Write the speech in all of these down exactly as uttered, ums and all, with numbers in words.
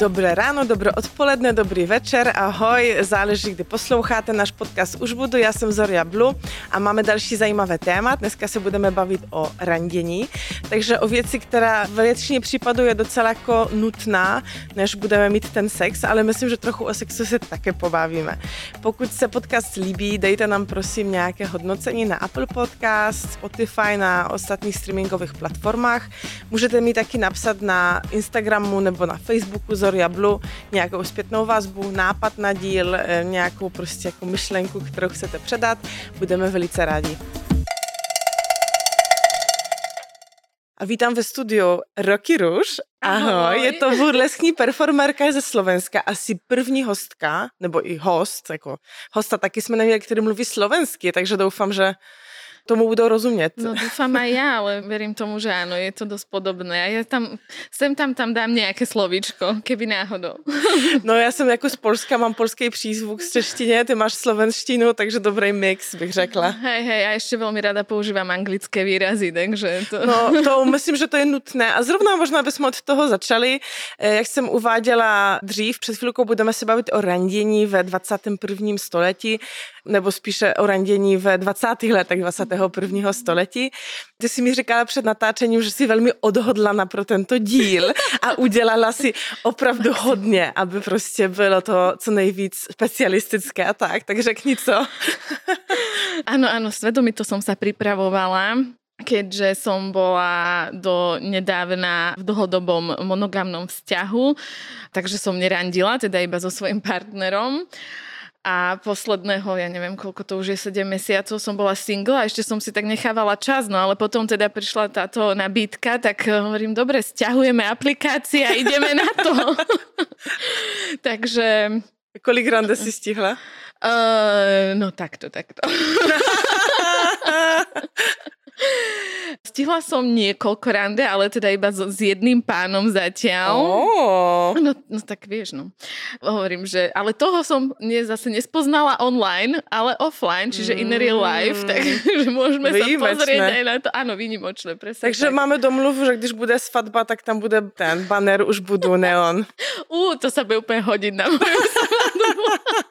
Dobré ráno, dobré odpoledne, dobrý večer, ahoj, záleží, kdy posloucháte náš podcast Už budu, já jsem Zoria Blue a máme další zajímavé téma. Dneska se budeme bavit o randění, takže o věci, která ve většině případů je docela jako nutná, než budeme mít ten sex, ale myslím, že trochu o sexu se také pobavíme. Pokud se podcast líbí, dejte nám prosím nějaké hodnocení na Apple Podcast, Spotify, na ostatních streamingových platformách. Můžete mi taky napsat na Instagramu nebo na Facebooku Zoria Blue nějakou zpětnou vazbu, nápad na díl, nějakou prostě jako myšlenku, kterou chcete předat. Budeme velice rádi. A vítám ve studiu Roky Ruž. Ahoj, Ahoj. Je to burleskní performerka ze Slovenska, asi první hostka, nebo i host, jako hosta taky jsme neměli, který mluví slovensky, takže doufám, že tomu budou rozumět. No dúfam aj ja, ale verím tomu, že áno, je to dosť podobné. A ja tam, sem tam tam dám nejaké slovíčko, keby náhodou. No já jsem jako z Polska, mám polský přízvuk z češtině, ty máš slovenštinu, takže dobrý mix, bych řekla. Hej, hej, a ešte veľmi rada používam anglické výrazy, takže to... No to myslím, že to je nutné. A zrovna možná bychom od toho začali. Jak jsem uváděla dřív, před chvilkou budeme se bavit o randění ve dvacátém prvním století, nebo spíše o randění ve dvacátých letech dvacátého prvního století. Ty jsi mi říkala před natáčením, že jsi velmi odhodlana pro tento díl a udělala si opravdu hodně, aby prostě bylo to co nejvíc specialistické a tak. Tak řekni co. Áno, áno, svedomito som sa pripravovala, keďže som bola do nedávna v dlhodobom monogamnom vzťahu, takže som nerandila, teda iba so svojím partnerom. A posledného, ja neviem, koľko to už je, sedem mesiacov som bola single a ešte som si tak nechávala čas, no ale potom teda prišla táto nabídka, tak hovorím, dobre, sťahujeme aplikácie a ideme na to. Takže... Kolik rande si stihla? Uh, no takto, takto. Stihla som niekoľko rande, ale teda iba s jedným pánom zatiaľ. Oh. No, no tak vieš, no. Hovorím, že... Ale toho som nie, zase nespoznala online, ale offline, čiže in real life, mm. takže môžeme výjimečné. Sa pozrieť aj na to. Áno, výnimočné, presne. Takže tak. máme domluvu, že když bude svatba, tak tam bude ten banner, už budú neon. Ú, to sa bude úplne hodiť na moju svadbu.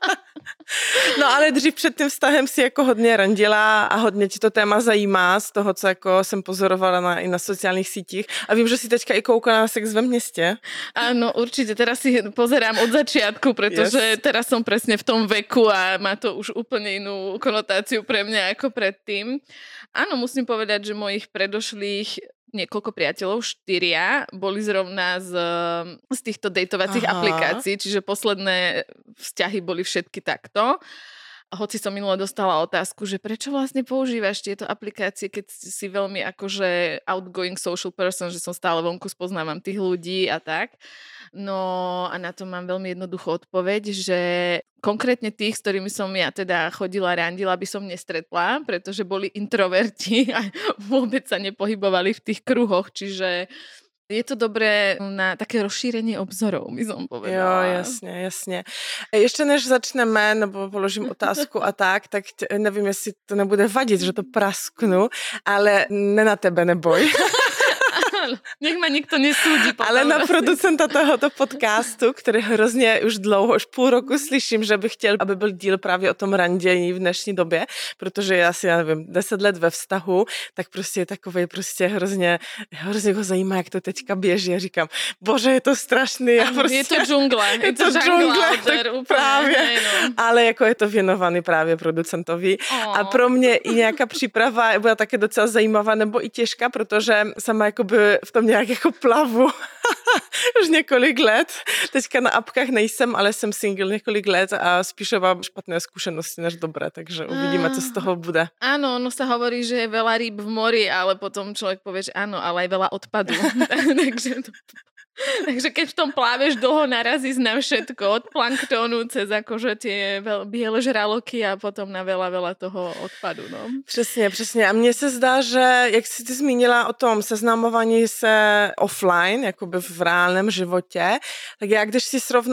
No ale dřív před tím vztahem si jako hodně randila a hodně ti to téma zajímá z toho, co jako jsem pozorovala na, i na sociálních sítích. A vím, že si teďka i koukala na Sex ve městě. Áno, určite. Teraz si pozerám od začiatku, pretože yes. teraz som presne v tom veku a má to už úplne inú konotáciu pre mňa ako predtým. Áno, musím povedať, že mojich predošlých niekoľko priateľov, štyria, boli zrovna z, z týchto dejtovacích Aha. aplikácií, čiže posledné vzťahy boli všetky takto. Hoci som minule dostala otázku, že prečo vlastne používaš tieto aplikácie, keď si veľmi akože outgoing social person, že som stále vonku, spoznávam tých ľudí a tak. No a na to mám veľmi jednoduchú odpoveď, že konkrétne tých, s ktorými som ja teda chodila, randila, by som nestretla, pretože boli introverti a vôbec sa nepohybovali v tých kruhoch, čiže je to dobré na také rozšírenie obzorov, by som povedala. Jo, jasně, jasně. Ještě než začneme, nebo položím otázku a tak, tak t- nevím, jestli to nebude vadit, že to prasknu, ale ne na tebe neboj. Nech ma nikto nesúdi. Ale na producenta tohoto podcastu, který hrozně už dlouho, už půl roku slyším, že bych chtěl, aby byl díl právě o tom randění v dnešní době, protože já si, já nevím, deset let ve vztahu, tak prostě je takovej prostě hrozně, hrozně ho zajímá, jak to teďka běží. A říkám, bože, je to strašný. Já prostě, je to džungla. Je, je to džungla. Právě. No. Ale jako je to věnovaný právě producentovi. Oh. A pro mě i nějaká příprava byla také docela zajímavá, nebo i těžká, protože sama jakoby v tom nějak jako plavu už několik let. Teďka na apkách nejsem, ale jsem single několik let a spíš mám špatné zkušenosti než dobré, takže uvidíme, co z toho bude. Áno, ono sa hovorí, že je veľa rýb v mori, ale potom človek povie, že áno, ale aj veľa odpadu. takže to... Takže keď v tom pláveš dlho, narazíš na všetko, od planktónu cez akože tie biele žraloky a potom na veľa, veľa toho odpadu. No. Přesně, přesně. A mně se zdá, že jak jsi ty zmínila o tom seznamování se offline, jakoby v reálném životě, tak já když si srovnám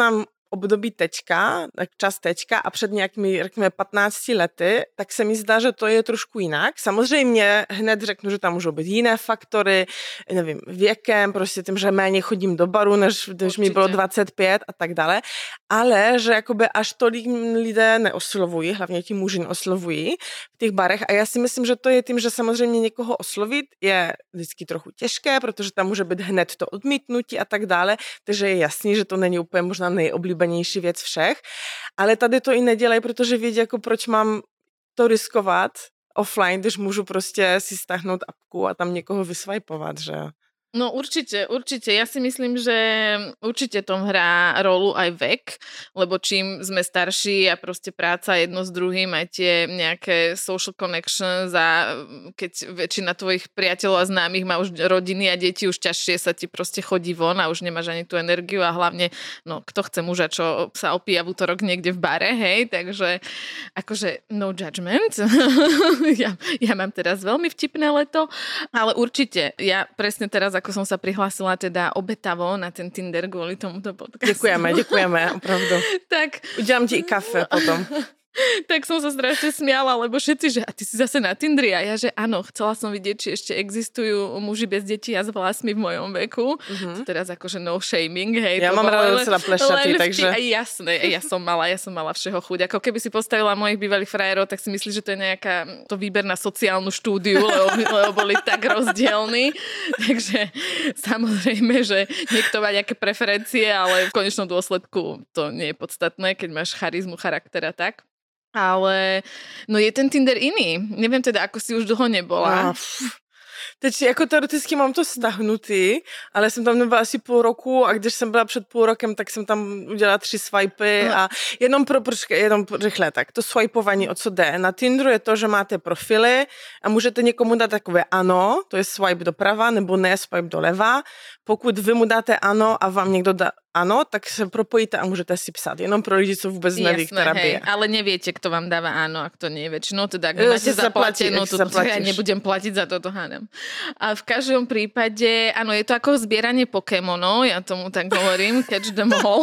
období teďka, tak čas teďka a před nějakými, řekněme, patnácti lety, tak se mi zdá, že to je trošku jinak. Samozřejmě hned řeknu, že tam můžou být jiné faktory, nevím, věkem, prostě tím, že méně chodím do baru, než když mi bylo dvacet pět a tak dále, ale že jakoby až tolik lidé neoslovují, hlavně ti muži neoslovují v těch barech a já si myslím, že to je tím, že samozřejmě někoho oslovit je vždycky trochu těžké, protože tam může být hned to odmítnutí a tak dále, takže je jasný, že to není úplně možná nejoblíbenější věc všech, ale tady to i nedělají, protože vědí, jako proč mám to riskovat offline, když můžu prostě si stáhnout apku a tam někoho vysvajpovat, že jo. No určite, určite. Ja si myslím, že určite tom hrá rolu aj vek, lebo čím sme starší a proste práca jedno s druhým, aj tie nejaké social connections a keď väčšina tvojich priateľov a známych má už rodiny a deti, už ťažšie sa ti proste chodí von a už nemáš ani tú energiu a hlavne, no kto chce muža, čo sa opíja v útorok niekde v bare, hej, takže akože no judgment. ja, ja mám teraz veľmi vtipné leto, ale určite, ja presne teraz ako som sa prihlásila teda obetavo na ten Tinder kvôli tomuto podcastu. Děkujeme, děkujeme, opravdu. Tak. Udělám ti i kafe potom. Tak som sa strašne smiala, lebo všetci, že a ty si zase na Tindri a ja, že áno, chcela som vidieť, či ešte existujú muži bez detí a s vlasmi v mojom veku. Mm-hmm. Teraz akože no shaming, hej. Ja mám rada docela plešatý, takže... Aj jasné, ja som mala, ja som mala všeho chuť. Ako keby si postavila mojich bývalých frajerov, tak si myslíš, že to je nejaká to výber na sociálnu štúdiu, lebo, lebo boli tak rozdielni. Takže samozrejme, že niekto má nejaké preferencie, ale v konečnom dôsledku to nie je podstatné, keď máš charizmu, charakter a tak. Ale no je ten Tinder iný. Neviem teda, ako si už dlho nebola. No, teď jako teoreticky mám to stahnutý, ale jsem tam nebyla asi půl roku a když jsem byla před půl rokem, tak jsem tam udělala tři swipy no. a jenom pro, počkej, jenom rychle, tak to swipování, o co jde. Na Tinderu je to, že máte profily a můžete někomu dát takové ano, to je swipe doprava, nebo ne, swipe doleva. Pokud vy mu dáte ano a vám někdo dá ano, tak se propojíte a můžete si psát. Jenom pro lidi, co vůbec neví, jasné, která hej, bije. ale neviete, kto vám dáva áno a kto nie. Väčšinou teda, ak máte zaplatenú, to, to ja nebudem platiť za toto, hádam. A v každom prípade, áno, je to ako zbieranie Pokémonov, ja tomu tak hovorím, catch them all.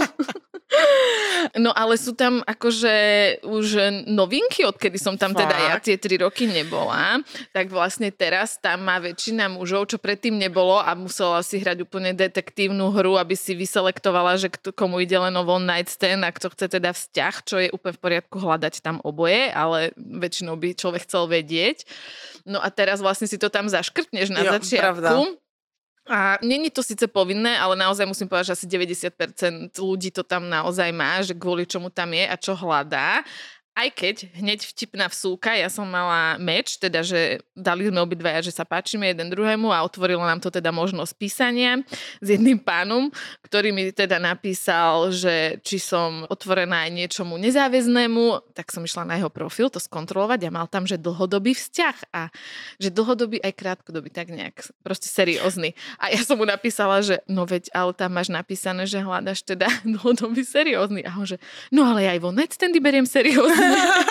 No ale sú tam akože už novinky, odkedy som tam Fakt? teda ja tie tri roky nebola, tak vlastne teraz tam má väčšina mužov, čo predtým nebolo a musela si hrať úplne detektívnu hru, aby si vyselektovala, že kto, komu ide len o one night stand a kto chce teda vzťah, čo je úplne v poriadku hľadať tam oboje, ale väčšinou by človek chcel vedieť. No a teraz vlastne si to tam zaškrtneš na jo, začiatku. Pravda. A není to síce povinné, ale naozaj musím povedať, že asi deväťdesiat percent ľudí to tam naozaj má, že kvôli čomu tam je a čo hľadá. Aj keď hneď vtipná vsúka, ja som mala meč, teda, že dali sme obidvaja, že sa páčime jeden druhému a otvorilo nám to teda možnosť písania s jedným pánom, ktorý mi teda napísal, že či som otvorená aj niečomu nezáväznému, tak som išla na jeho profil to skontrolovať a mal tam, že dlhodobý vzťah a že dlhodobý aj krátkodobý, tak nejak proste seriózny. A ja som mu napísala, že no veď, ale tam máš napísané, že hľadaš teda dlhodobý seriózny. A on že, no ale aj one night standy beriem seriózny.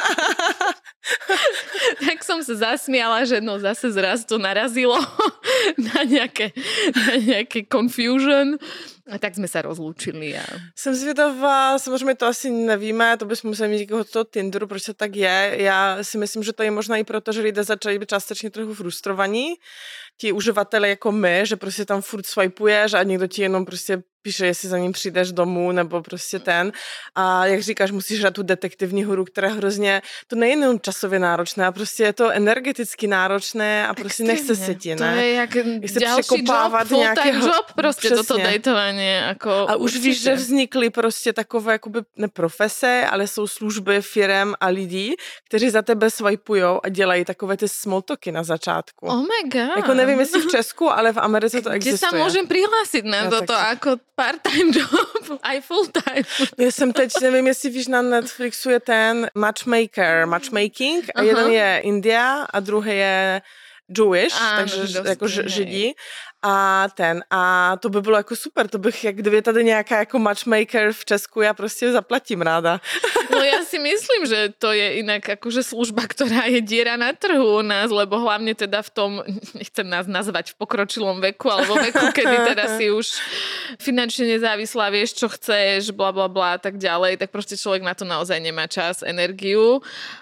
Tak som sa zasmiala, že no zase zraz to narazilo na nejaké, na nejaké confusion. A tak jsme se rozloučili. A... Jsem zvědavá, samozřejmě to asi nevíme, to bychom museli mít někoho toho Tinderu, proč to tak je. Já si myslím, že to je možná i proto, že lidé začali být částečně trochu frustrovaní. Ti uživatele jako my, že prostě tam furt swipuješ a někdo ti jenom prostě píše, jestli za ním přijdeš domů, nebo prostě ten. A jak říkáš, musíš hrát tu detektivní hru, která hrozně, to není jenom časově náročné, a prostě je to energeticky náročné a prostě Extrémně. nechce se ti, ne? To je jak další job, full-time job, prostě přesně. Toto dejtování. Jako a už určitě. Víš, že vznikly prostě takové jakoby ne profese, ale jsou služby firem a lidí, kteří za tebe swipujou a dělají takové ty small talky na začátku. Oh my god. Jako nevím, jestli v Česku, ale v Americe to existuje. Kde sa môžem prihlásit na ja, toto tak... jako part-time job, aj full-time. Já jsem teď, nevím, jestli víš, na Netflixu je ten matchmaker, matchmaking a Aha. jeden je India a druhý je Jewish, Áno, takže jako židí. A ten, a to by bylo jako super, to bych, jak kdyby tady nějaká jako matchmaker v Česku, já prostě zaplatím ráda. No ja si myslím, že to je inak akože služba, ktorá je diera na trhu u nás, lebo hlavne teda v tom, nechcem nás nazvať v pokročilom veku, alebo veku, kedy teda si už finančne nezávislá, vieš, čo chceš, bla bla bla a tak ďalej, tak proste človek na to naozaj nemá čas, energiu.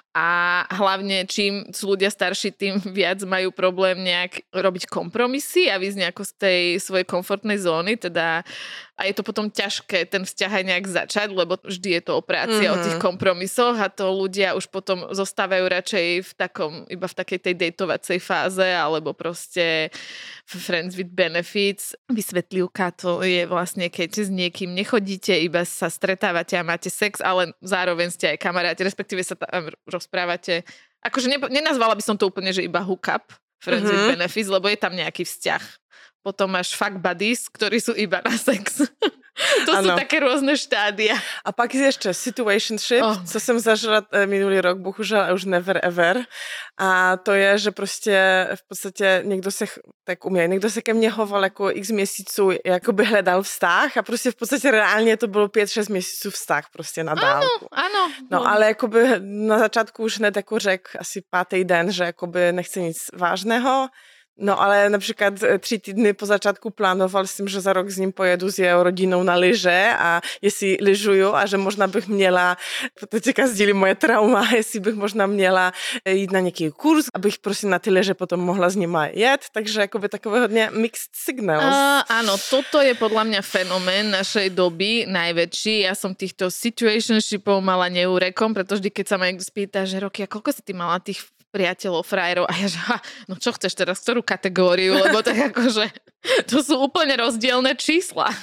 A hlavne, čím sú ľudia starší, tým viac majú problém nejak robiť kompromisy a výsť nejako z tej svojej komfortnej zóny, teda a je to potom ťažké ten vzťah aj nejak začať, lebo vždy je to o práci mm-hmm. a o tých kompromisoch a to ľudia už potom zostávajú radšej v takom, iba v takej tej dejtovacej fáze, alebo proste friends with benefits. Vysvetlivka to je vlastne, keď s niekým nechodíte, iba sa stretávate a máte sex, ale zároveň ste aj kamaráti, respektíve sa tam rozprávate. Akože ne, nenazvala by som to úplne, že iba hookup, friends mm-hmm. with benefits, lebo je tam nejaký vzťah. Potom máš fuck buddies, ktorí sú iba na sex. To ano. Sú také rôzne štádia. A pak je ještě situationship, oh. co jsem zažila minulý rok, bohužel už never ever. A to je, že prostě v podstatě někdo se, tak umě, někdo se ke mně hoval jako x měsíců, jakoby hledal vztah a prostě v podstatě reálně to bylo pět šest měsíců vztah prostě na dálku. Ano, ano. No ale jakoby na začátku už hned jako řek asi pátý den, že jakoby nechce nic vážného. No ale například tři týdny po začátku plánoval jsem, že za rok s ním pojedu s jeho rodinou na lyže a jestli lyžuju a že možná bych měla, teďka sdílí moje trauma, jestli bych možná měla jít na nějaký kurz, abych prostě na ty lyže potom mohla s nima jet, takže jakoby takové hodně mixed signals. Uh, áno, toto je podľa mňa fenomén našej doby najväčší. Ja som týchto situationshipov mala neúrekom, pretože vždy, keď sa ma niekto spýta, že Roky, a koľko si ty mala tých priateľov, frajerov a ja že, ha, no čo chceš teraz, ktorú kategóriu, lebo tak akože to sú úplne rozdielne čísla.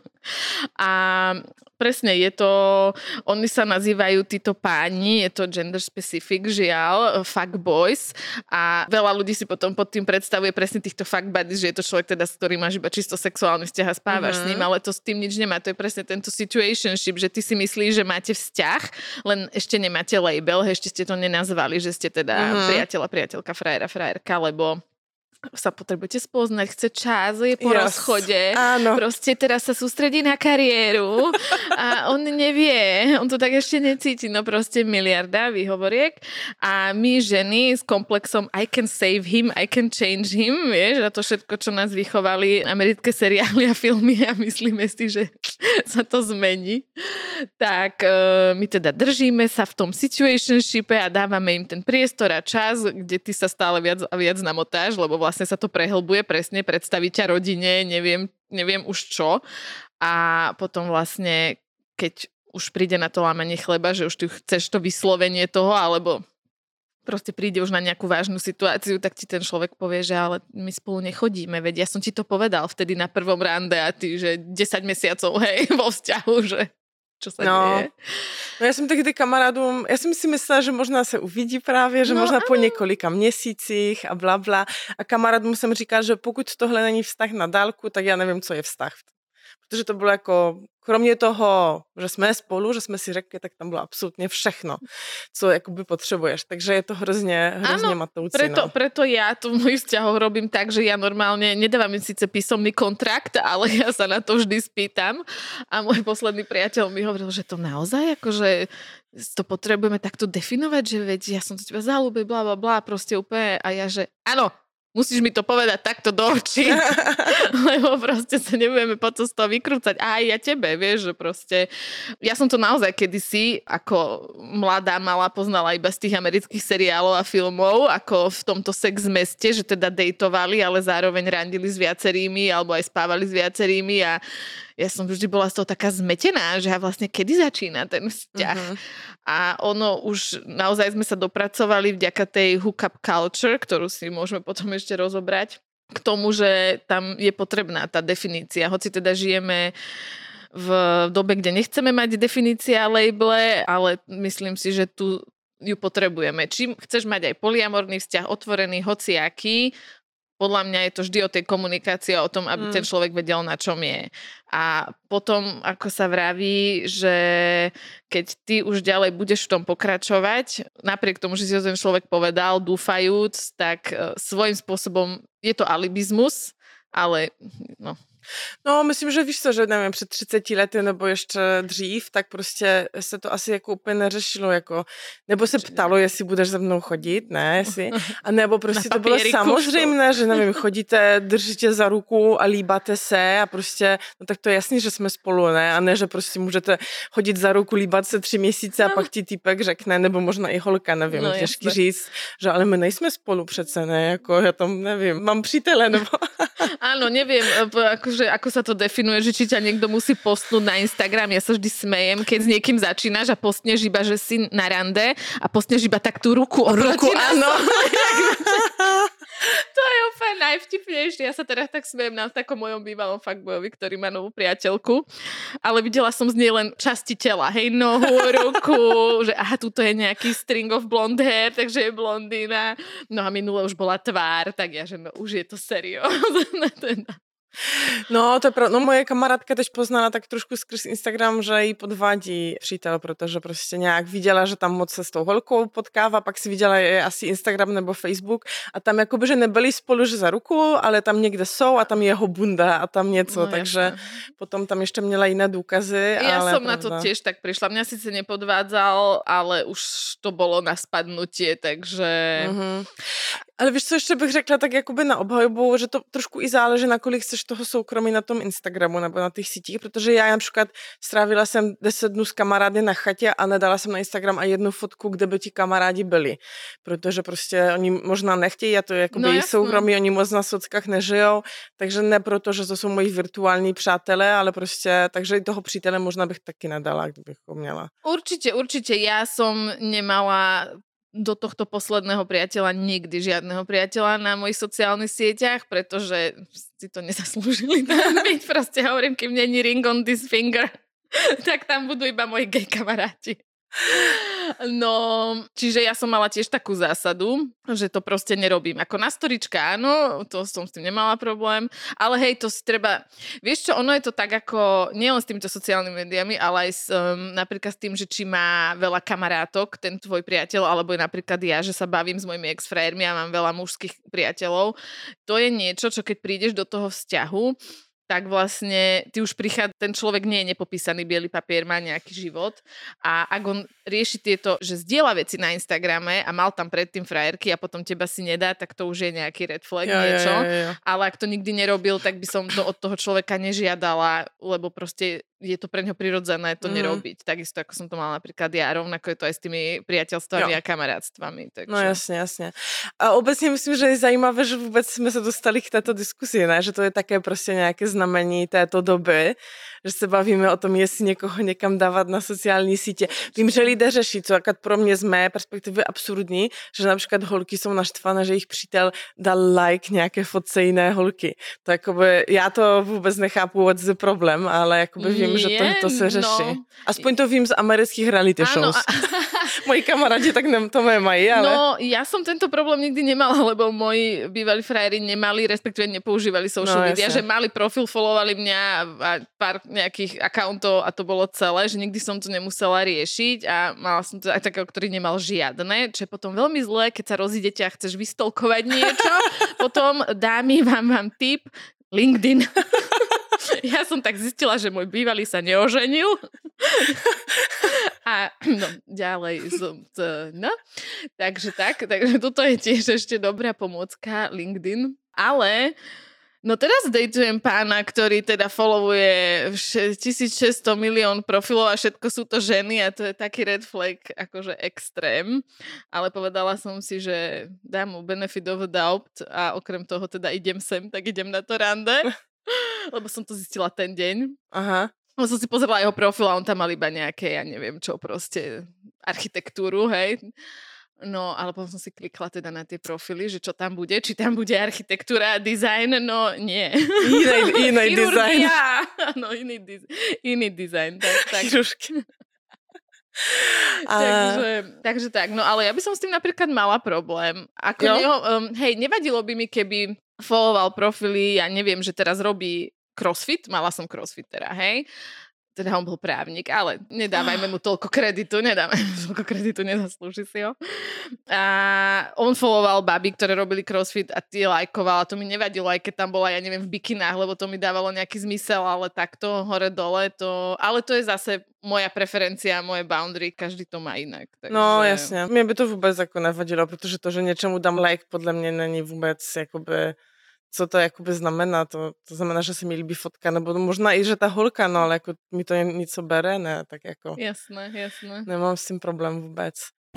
A presne je to, oni sa nazývajú títo páni, je to gender specific, žiaľ, fuck boys a veľa ľudí si potom pod tým predstavuje presne týchto fuck buddies, že je to človek teda, s ktorým máš iba čisto sexuálny vzťah a spávaš mm-hmm. s ním, ale to s tým nič nemá, to je presne tento situationship, že ty si myslíš, že máte vzťah, len ešte nemáte label, ešte ste to nenazvali, že ste teda mm-hmm. priateľa, priateľka, frajera, frajerka, lebo sa potrebujete spoznať, chce čas, je po yes. rozchode, áno. Proste teraz sa sústredí na kariéru a on nevie, on to tak ešte necíti, no proste miliarda výhovoriek a my ženy s komplexom I can save him, I can change him, vieš, a to všetko, čo nás vychovali americké seriály a filmy a myslíme si, že sa to zmení, tak uh, my teda držíme sa v tom situationshipe a dávame im ten priestor a čas, kde ty sa stále viac a viac namotáš, lebo vlastne sa to prehlbuje, presne predstaviť ťa rodine, neviem, neviem už čo. A potom vlastne, keď už príde na to lámanie chleba, že už ty chceš to vyslovenie toho, alebo proste príde už na nejakú vážnu situáciu, tak ti ten človek povie, že ale my spolu nechodíme, veď ja som ti to povedal vtedy na prvom rande a ty, že desať mesiacov, hej, vo vzťahu, že čo sa no. deje. No já jsem tehdy kamarádům, já jsem si myslela, že možná se uvidí právě, že no, možná ano. po několika měsících a bla bla. A kamarádům jsem říkala, že pokud tohle není vztah na dálku, tak já nevím, co je vztah. Protože to bylo jako, kromě toho, že jsme spolu, že jsme si řekli, tak tam bylo absolutně všechno, co jakoby potřebuješ. Takže je to hrozně, hrozně matoucí. Preto, no. preto ja to v mojich vzťahoch robím tak, že ja normálne nedávam im síce písomný kontrakt, ale ja sa na to vždy spýtam. A môj posledný priateľ mi hovoril, že to naozaj, akože to potrebujeme takto definovať, že veď ja som to teba zalúbil, blá, blá, blá, proste úplne. A ja, že áno, musíš mi to povedať takto do očí, lebo proste sa nebudeme potom z toho vykrúcať. A aj ja tebe, vieš, že proste... Ja som to naozaj kedysi ako mladá mala poznala iba z tých amerických seriálov a filmov, ako v tomto sex meste, že teda dejtovali, ale zároveň randili s viacerými, alebo aj spávali s viacerými a ja som vždy bola z toho taká zmetená, že vlastne kedy začína ten vzťah. Uh-huh. A ono už naozaj sme sa dopracovali vďaka tej hookup culture, ktorú si môžeme potom ešte rozobrať, k tomu, že tam je potrebná tá definícia. Hoci teda žijeme v dobe, kde nechceme mať definícia labele, ale myslím si, že tu ju potrebujeme. Čím chceš mať aj polyamorný vzťah, otvorený, hociaký, podľa mňa je to vždy o tej komunikácii a o tom, aby mm. ten človek vedel, na čom je. A potom, ako sa vraví, že keď ty už ďalej budeš v tom pokračovať, napriek tomu, že si to ten človek povedal, dúfajúc, tak svojím spôsobom je to alibizmus, ale no. No, myslím, že víš co, že nevím, před třiceti lety nebo ještě dřív, tak prostě se to asi jako úplně neřešilo, jako, nebo se ptalo, jestli budeš za mnou chodit, ne, jestli, a nebo prostě to bylo samozřejmé, že nevím, chodíte, držíte za ruku a líbáte se a prostě, no tak to je jasný, že jsme spolu, ne, a ne, že prostě můžete chodit za ruku, líbat se tři měsíce a pak ti týpek řekne, nebo možná i holka, nevím, no, těžký říct, že ale my nejsme spolu přece, ne, jako já tam nevím, mám přítele, nebo... Áno, neviem, akože, ako sa to definuje, že či ťa niekto musí postnúť na Instagram. Ja sa vždy smejem, keď s niekým začínaš a postneš iba, že si na rande a postneš iba tak tú ruku oproti ruku, áno. To je úplne najvtipnejšie. Ja sa teda tak smejem na takom mojom bývalom fuckboyovi, ktorý má novú priateľku, ale videla som z nej len časti tela, hej, nohu, ruku, že aha, tuto je nejaký string of blonde hair, takže je blondína. No a minule už bola tvár, tak ja, že no už je to seriózne teda. No, to je pravda. No, moje kamarádka teď poznala tak trošku skrz Instagram, že jí podvádí přítel, protože prostě nějak viděla, že tam moc se s tou holkou potkává, pak si viděla je asi Instagram nebo Facebook a tam jakoby, že nebyli spolu, že za ruku, ale tam někde jsou a tam je jeho bunda a tam něco, no, takže jasne. Potom tam ještě měla jiné důkazy. Ja ale som pravda. Na to tiež tak prišla. Mňa síce nepodvádzal, ale už to bolo na spadnutie, takže... Mm-hmm. Ale víš, co ještě bych řekla, tak jakoby na obhajobu, že to trošku i záleží, na kolik chceš toho soukromí na tom Instagramu nebo na těch sítích, protože já například strávila jsem deset dnů s kamarády na chatě a nedala jsem na Instagram a jednu fotku, kde by ti kamarádi byli, protože prostě oni možná nechtějí a to je jakoby no, jejich soukromí, oni moc na sockách nežijou, takže ne proto, že to jsou moji virtuální přátelé, ale prostě, takže i toho přítele možná bych taky nedala, kdybych ho měla. Určite, určite, ja som nemala do tohto posledného priateľa nikdy žiadneho priateľa na mojich sociálnych sieťach, pretože si to nezaslúžili tam byť. Proste hovorím, kým není ring on this finger, tak tam budú iba moji gay kamaráti. No, čiže ja som mala tiež takú zásadu, že to proste nerobím. Ako na storička, áno, to som s tým nemala problém, ale hej, to si treba... Vieš čo, ono je to tak ako, nielen s týmito sociálnymi médiami, ale aj s, um, napríklad s tým, že či má veľa kamarátok, ten tvoj priateľ, alebo je napríklad ja, že sa bavím s mojimi ex-frajermi a mám veľa mužských priateľov. To je niečo, čo keď prídeš do toho vzťahu, tak vlastne ty už prichádza, ten človek nie je nepopísaný biely papier, má nejaký život a ak on rieši tieto, že zdieľa veci na Instagrame a mal tam predtým frajerky a potom teba si nedá, tak to už je nejaký red flag, ja, niečo. Ja, ja, ja. Ale ak to nikdy nerobil, tak by som to od toho človeka nežiadala, lebo proste je to pre ňo prirodzené to mm. nerobiť. Takisto ako som to mala napríklad ja, rovnako je to aj s tými priateľstvami jo. A kamarátstvami. Takže... No jasně, jasně. A obecně myslím, že je zajímavé, že vůbec jsme se dostali k této diskusi, ne? Že to je také prostě nějaké znamení této doby, že se bavíme o tom, jestli někoho někam dávat na sociální sítě. Vím, že lidé řeší, co jako pro mě z mé perspektivy absurdní, že například holky jsou naštvané, že jejich přítel dal like nějaké fotce jiné holky. To jakoby, já to vůbec nechápu, what's the problem, ale jakoby vím, že to, to se řeší. No. Aspoň to vím z amerických reality shows. A... Moji kamarádi tak ne, to mají, ale... No, ja som tento problém nikdy nemala, lebo moji bývalí frajeri nemali, respektíve nepoužívali social no, media, jasne. Že mali profil, followovali mňa a pár nejakých accountov a to bolo celé, že nikdy som to nemusela riešiť a mala som to aj takého, ktorý nemal žiadne, čo je potom veľmi zlé, keď sa rozídete a chceš vystolkovať niečo. Potom dámy, vám mám tip, LinkedIn. Ja som tak zistila, že môj bývalý sa neoženil. A no, ďalej som to, no. Takže tak, takže toto je tiež ešte dobrá pomôcka LinkedIn. Ale no teraz dejtujem pána, ktorý teda followuje tisícšesťsto milión profilov a všetko sú to ženy a to je taký red flag, akože extrém. Ale povedala som si, že dám mu benefit of the doubt a okrem toho teda idem sem, tak idem na to rande. Lebo som to zistila ten deň. Aha. Lebo som si pozerala jeho profil a on tam mal iba nejaké, ja neviem čo, proste architektúru, hej. No, ale potom som si klikla teda na tie profily, že čo tam bude, či tam bude architektúra a dizajn, no nie. Iný, iný dizajn. No, iný, diz, iný dizajn. Tak, tak. A... takže, takže tak, no ale ja by som s tým napríklad mala problém. Ako neho, um, hej, nevadilo by mi, keby followoval profily, ja neviem, že teraz robí crossfit, mala som crossfitera, hej. Teda on bol právnik, ale nedávajme mu toľko kreditu, nedávajme mu toľko kreditu, nezaslúži si ho. A on followoval baby, ktoré robili crossfit a tie lajkoval a to mi nevadilo, aj keď tam bola, ja neviem, v bikinách, lebo to mi dávalo nejaký zmysel, ale takto hore-dole to... Ale to je zase moja preferencia, moje boundary, každý to má inak. Takže... No jasně, mě by to vůbec jako nevadilo, protože to, že něčemu dám like, podle mě není vůbec jakoby... Co to jakoby znamená? To, to znamená, že se mi líbí fotka, nebo možná i, že ta holka, no ale jako mi to něco bere, ne? Tak jako... Jasné, jasné. Nemám s tím problém vůbec.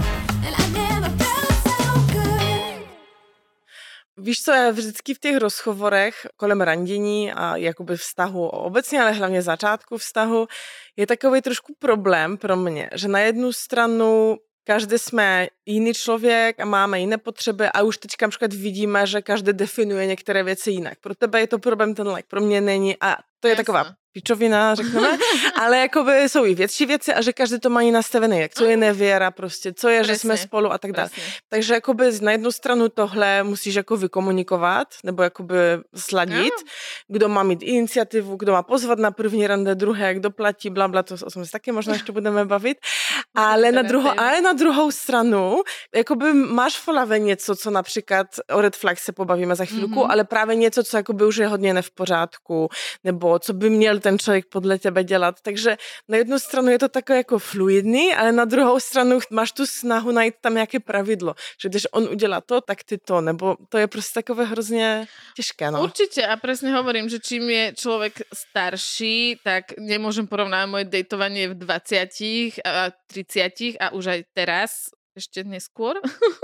Víš co, já vždycky v těch rozhovorech kolem randění a jakoby vztahu obecně, ale hlavně začátku vztahu, je takový trošku problém pro mě, že na jednu stranu každý jsme jiný člověk a máme jiné potřeby a už teďka například vidíme, že každý definuje některé věci jinak. Pro tebe je to problém ten like, pro mě není a to je Jasne. Taková pičovina, řekneme, ale jakoby jsou i větší věci a že každý to má i nastavené, jak co je nevěra prostě, co je, Presne. Že jsme spolu a tak dále. Takže jakoby na jednu stranu tohle musíš jako vykomunikovat, nebo jakoby sladit, no. Kdo má mít iniciativu, kdo má pozvat na první rande, druhé, kdo platí, blabla, to o tom se taky možná ještě budeme bavit, ale na, druhou, ale na druhou stranu, jakoby máš v hlavě něco, co například o red flag se pobavíme za chvíľku, mm-hmm. ale právě něco, co jakoby už je hodně ne v pořádku, nebo co by měl ten člověk podle tebe dělat. Takže na jednu stranu je to takové jako fluidní, ale na druhou stranu máš tu snahu najít tam nějaké pravidlo. Že když on udělá to, tak ty to. Nebo to je prostě takové hrozně těžké. No. Určite a presne hovorím, že čím je človek starší, tak nemôžem porovnávať moje dejtovanie v dvadsiatich a tridsiatich a už aj teraz ešte neskôr,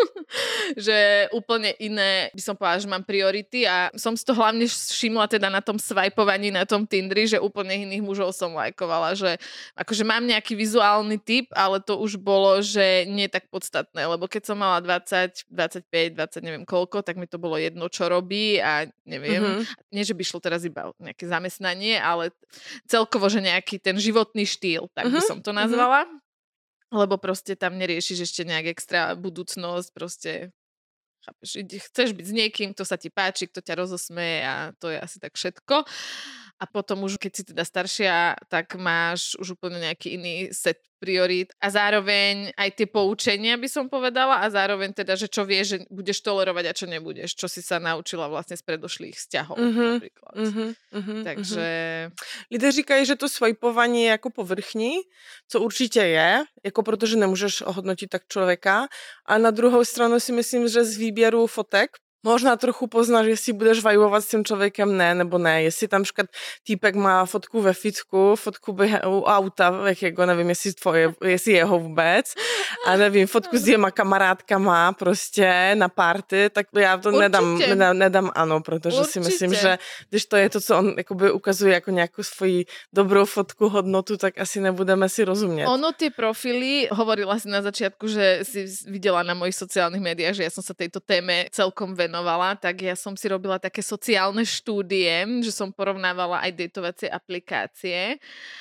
že úplne iné, by som povedala, že mám priority a som si to hlavne všimla teda na tom swipovaní na tom Tindri, že úplne iných mužov som lajkovala, že akože mám nejaký vizuálny typ, ale to už bolo, že nie tak podstatné, lebo keď som mala dvadsať, dvadsaťpäť, dvadsať neviem koľko, tak mi to bolo jedno, čo robí a neviem, mm-hmm. nie, že by šlo teraz iba o nejaké zamestnanie, ale celkovo, že nejaký ten životný štýl, tak mm-hmm. by som to nazvala. Mm-hmm. Lebo proste tam neriešiš ešte nejak extra budúcnosť, proste chápeš, chceš byť s niekým, kto sa ti páči, kto ťa rozosmeje a to je asi tak všetko. A potom už, keď si teda staršia, tak máš už úplne nejaký iný set priorít a zároveň aj tie poučenia by som povedala a zároveň teda, že čo vieš, že budeš tolerovať a čo nebudeš, čo si sa naučila vlastne z predošlých vzťahov mm-hmm, napríklad. Mm-hmm, mm-hmm, Takže... Lidé říkají, že to swipovaní je jako povrchní, co určitě je, jako protože nemůžeš ohodnotit tak člověka, a na druhou stranu si myslím, že z výběru fotek možná trochu poznáš, jestli budeš vajbovat s tím člověkem, ne, nebo ne. Jestli tam škat týpek má fotku ve fitku, fotku u auta, jako nevím, jestli tvoje, jestli jeho vůbec, a nevím, fotku s dvěma kamarádkama prostě na party, tak já to nedám, nedám, nedám ano, protože Určitě. Si myslím, že když to je to, co on jakoby ukazuje jako nějakou svoji dobrou fotku, hodnotu, tak asi nebudeme si rozumět. Ono tie profily, hovorila si na začiatku, že si videla na mojich sociálnych médiách, že ja som sa tejto téme celkom venovala, tak ja som si robila také sociálne štúdie, že som porovnávala aj dejtovacie aplikácie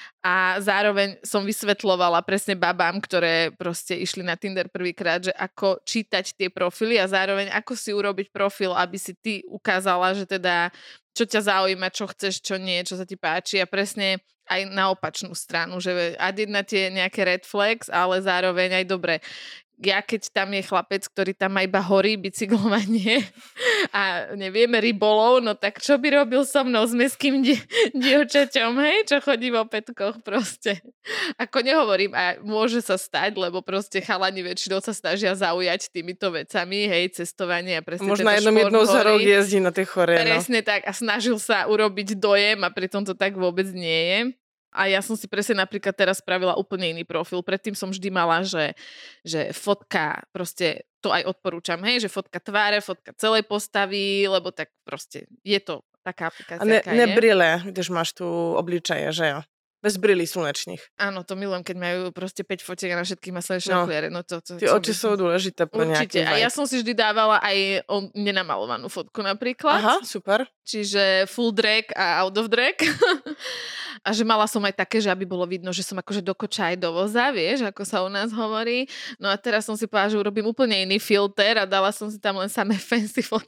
a zároveň som vysvetľovala presne babám, ktoré proste išli na Tinder prvýkrát, že ako čítať tie profily a zároveň ako si urobiť profil, aby si ty ukázala, že teda čo ťa zaujíma, čo chceš, čo nie, čo sa ti páči a presne aj na opačnú stranu, že ad jedna tie nejaké red flags, ale zároveň aj dobre. Ja keď tam je chlapec, ktorý tam má iba horí, bicyklovanie a nevieme rybolov, no tak čo by robil so mnou s mestským di- dievčaťom, hej, čo chodí vo pätkoch proste. Ako nehovorím, a môže sa stať, lebo proste chalani väčšinou sa snažia zaujať týmito vecami, hej, cestovanie a presne možná jednom jednou za rok jezdí na tie chore. Presne no. Tak a snažil sa urobiť dojem a pritom to tak vôbec nie je. A ja som si presne napríklad teraz spravila úplne iný profil. Predtým som vždy mala, že, že fotka, proste to aj odporúčam, hej, že fotka tváre, fotka celej postavy, lebo tak proste je to taká aplikácia, a ne, aká ne je. brýle, když máš tu obličeje, že jo? Bez brýlí slunečných. Áno, to milujem, keď majú proste päť fotiek a na všetkých má slnečné no, okuliare. No to, to, ty oči by... sú dôležité pro Určite. nejaký vibe. A ja som si vždy dávala aj o nenamalovanú fotku napríklad. Aha, super. Čiže full drag a out of drag. A že mala som aj také, že aby bolo vidno, že som akože do koča aj do voza, vieš, ako sa u nás hovorí. No a teraz som si povedala, že urobím úplne iný filter a dala som si tam len samé fancy fotky.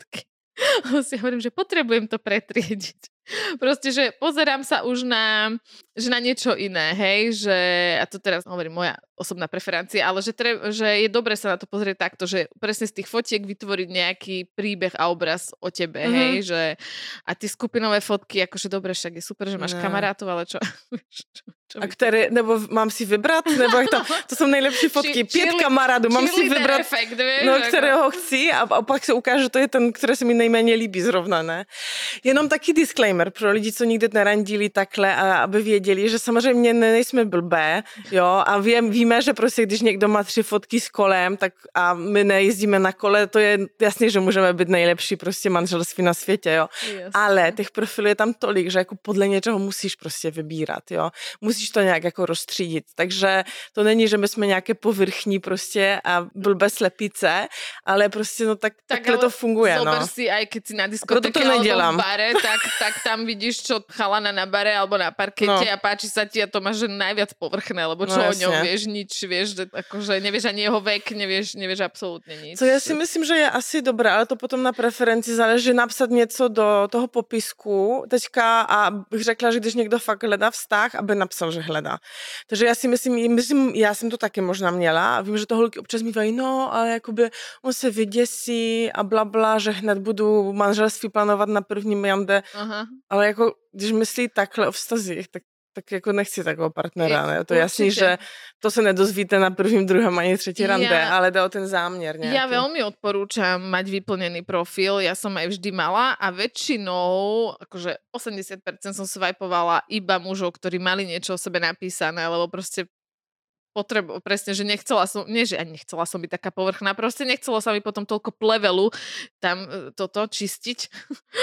si hovorím, že potrebujem to pretriediť. Proste, že pozerám sa už na, že na niečo iné, hej, že, a to teraz hovorím moja osobná preferencia, ale že, tre, že je dobre sa na to pozrieť takto, že presne z tých fotiek vytvoriť nejaký príbeh a obraz o tebe, mm-hmm. hej, že a tie skupinové fotky, akože dobre, však je super, že máš ne. kamarátov, ale čo? čo, čo a které, nebo mám si vybrat, nebo jak to, to jsou nejlepší fotky, Či, pět kamarádů, mám si vybrat, efekt, vieš, no, kterého chci a, a pak se ukáže, že to je ten, který se mi nejméně líbí zrovna, ne? Jenom taky disclaimer pro lidi, co nikdy nerandili takhle, a aby věděli, že samozřejmě nejsme blbé, jo, a vím, víme, že prostě když někdo má tři fotky s kolem, tak a my nejezdíme na kole, to je jasně, že můžeme být nejlepší prostě manželství na světě, jo. Yes. Ale těch profilů je tam tolik, že jako podle něčeho musíš prostě vybírat, jo. Musíš to nějak jako rozstřídit, takže to není, že my jsme nějaké povrchní prostě a blbé slepice, ale prostě no tak, tak takhle to funguje, no. Zober si, aj keď si na diskotéke alebo v bare, tak, tak tam vidíš, čo chalana na bare alebo na parkete no. a páči sa ti a to máš že najviac povrchné, lebo čo no, o ňom vieš, nič, vieš, že akože nevieš ani jeho vek, nevieš, nevieš absolútne nič. Co já si myslím, že je asi dobré, ale to potom na preferenci záleží napsat něco do toho popisku teďka a bych řekla, že když někdo fakt hledá vztah, aby napsal, že hledá. Takže já si myslím, myslím, já jsem to taky možná měla a vím, že to holky občas mývají, no, ale jakoby on se vyděsí a blabla, že hned budu manželství plánovat na prvním jande, Aha. ale jako když myslí takhle o vztazích, tak tak jako nechci takového partnera, ne? To je jasný, že to se nedozvíte na prvním, druhém ani třetí rande, ja, ale jde o ten záměr nejaký. Ja veľmi odporúčam mať vyplnený profil, ja som aj vždy mala a väčšinou, akože osemdesiat percent som swipovala iba mužov, ktorí mali niečo o sebe napísané, lebo proste potrebo, presne, že nechcela som, nie, že ani nechcela som byť taká povrchná, proste nechcelo sa mi potom toľko plevelu tam toto čistiť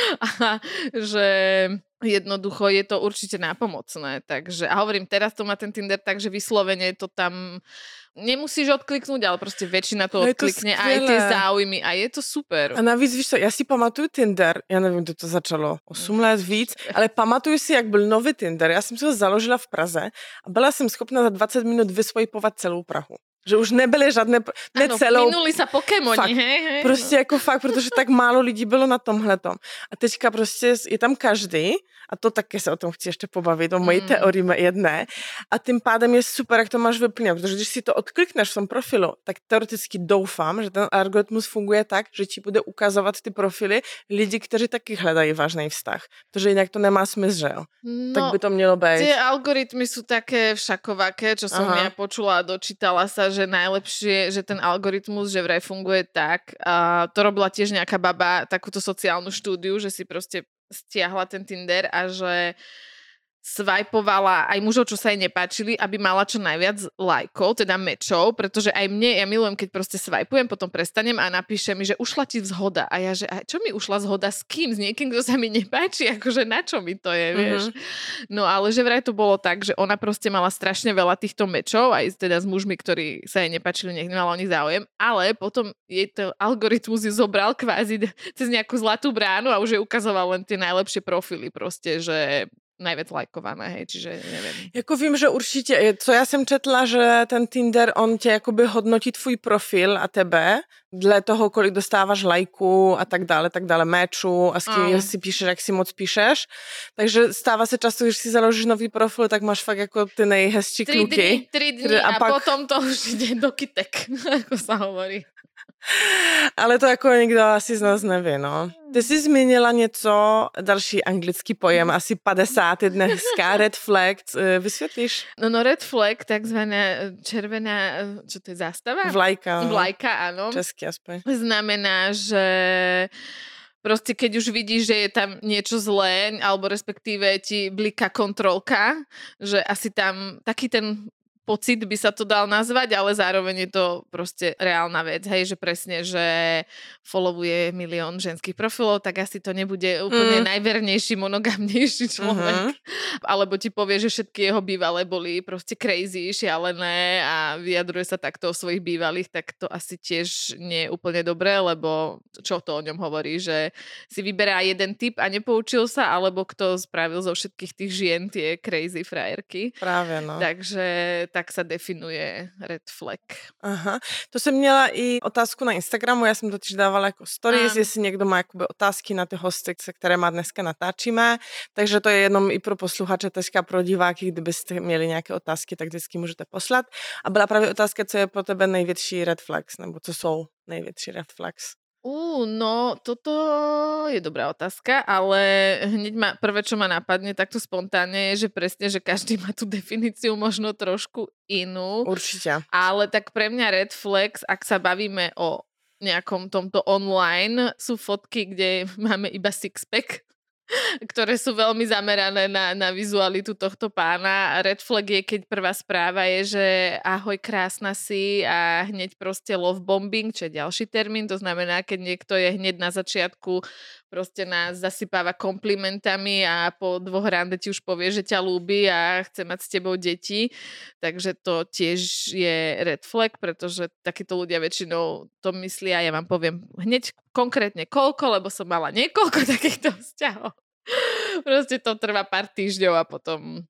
a že jednoducho je to určite nápomocné, takže a hovorím, teraz to má ten Tinder, takže vyslovene to tam nemusíš odkliknúť, ale proste väčšina to odklikne, to aj tie záujmy a je to super. A navíc, víš co, já si pamatuju Tinder, já nevím, kdy to začalo, osm let víc, ale pamatuju si, jak byl nový Tinder, já jsem si ho založila v Praze a byla jsem schopna za dvacet minut vyswipovat celou Prahu. Že už nebyly žádné, ne ano, celou... minuli sa Pokémoni, hej, hej. Prostě no. jako fakt, protože tak málo lidí bylo na tomhletom. A teďka prostě je tam každý, a to taky se o tom chci ještě pobavit, o mojí mm. teorii jedné, a tím pádem je super, jak to máš vyplněno, protože když si to odklikneš v tom profilu, tak teoreticky doufám, že ten algoritmus funguje tak, že ti bude ukazovat ty profily lidi, kteří taky hledají vážný vztah, protože jinak to nemá smysl, že jo? No, tak by to mělo být. Tie algoritmy sú také všakovaké, čo som Aha. ja počula a dočítala sa, že najlepšie, že ten algoritmus, že vraj funguje tak, a to robila tiež nejaká baba, takúto sociálnu štúdiu, že si proste stiahla ten Tinder a že swipovala aj mužov, čo sa jej nepáčili, aby mala čo najviac lajkov, teda mečov, pretože aj mne, ja milujem, keď proste swipujem, potom prestanem a napíše mi, že ušla ti zhoda. A ja, že a čo mi ušla zhoda s kým? S niekým, kto sa mi nepáči? Akože na čo mi to je, vieš? Mm-hmm. No ale že vraj to bolo tak, že ona proste mala strašne veľa týchto mečov, aj teda s mužmi, ktorí sa jej nepáčili, nech nemala o nich záujem, ale potom jej to algoritmus ju zobral kvázi cez nejakú zlatú bránu a už jej ukazoval len tie najlepšie profily proste, že najviac lajkované, hej, čiže neviem. Jako vím, že určitě, co já jsem četla, že ten Tinder, on tě jakoby hodnotí tvůj profil a tebe, dle toho, kolik dostáváš lajků a tak dále, tak dále, méčů a s kým uh. si píšeš, jak si moc píšeš. Takže stává se často, když si založíš nový profil, tak máš fakt jako ty nejhezčí tri kluky. Dny, tri dny a, a pak... potom to už jde do kytek, ako sa hovorí. Ale to jako nikdo asi z nás neví, no. Ty jsi zmínila něco, další anglický pojem, asi padesát je dneska, red flag, vysvětlíš? No, no red flag, takzvaná červená, čo to je zástava? Vlajka. No. Vlajka, áno. Česky aspoň. Znamená, že proste keď už vidíš, že je tam niečo zlé, alebo respektíve ti bliká kontrolka, že asi tam taký ten pocit by sa to dal nazvať, ale zároveň je to proste reálna vec, hej, že presne, že followuje milión ženských profilov, tak asi to nebude úplne mm. najvernejší, monogamnejší človek. Mm-hmm. Alebo ti povie, že všetky jeho bývalé boli proste crazy, šialené a vyjadruje sa takto o svojich bývalých, tak to asi tiež nie je úplne dobré, lebo čo to o ňom hovorí, že si vyberá jeden typ a nepoučil sa, alebo kto spravil zo všetkých tých žien tie crazy frajerky. Práve, no. Takže tak sa definuje red flag. Aha, to jsem měla i otázku na Instagramu, já jsem totiž dávala jako stories, Áno. jestli někdo má jakoby otázky na ty hosty, které má dneska natáčíme, takže to je jenom i pro posluchače, teďka pro diváky, kdybyste měli nějaké otázky, tak vždycky můžete poslat. A byla právě otázka, co je pro tebe největší red flags, nebo co jsou největší red flags. Ú, no, toto je dobrá otázka, ale hneď ma, prvé, čo ma napadne takto spontánne je, že presne, že každý má tú definíciu možno trošku inú. Určite. Ale tak pre mňa red flags, ak sa bavíme o nejakom tomto online, sú fotky, kde máme iba six-pack, ktoré sú veľmi zamerané na, na vizualitu tohto pána. Red flag je, keď prvá správa je, že ahoj, krásna si a hneď proste love bombing, čo je ďalší termín, to znamená, keď niekto je hneď na začiatku proste nás zasypáva komplimentami a po dvoch rande ti už povie, že ťa ľúbi a chce mať s tebou deti. Takže to tiež je red flag, pretože takíto ľudia väčšinou to myslia, ja vám poviem hneď konkrétne koľko, lebo som mala niekoľko takýchto vzťahov. Proste to trvá pár týždňov a potom...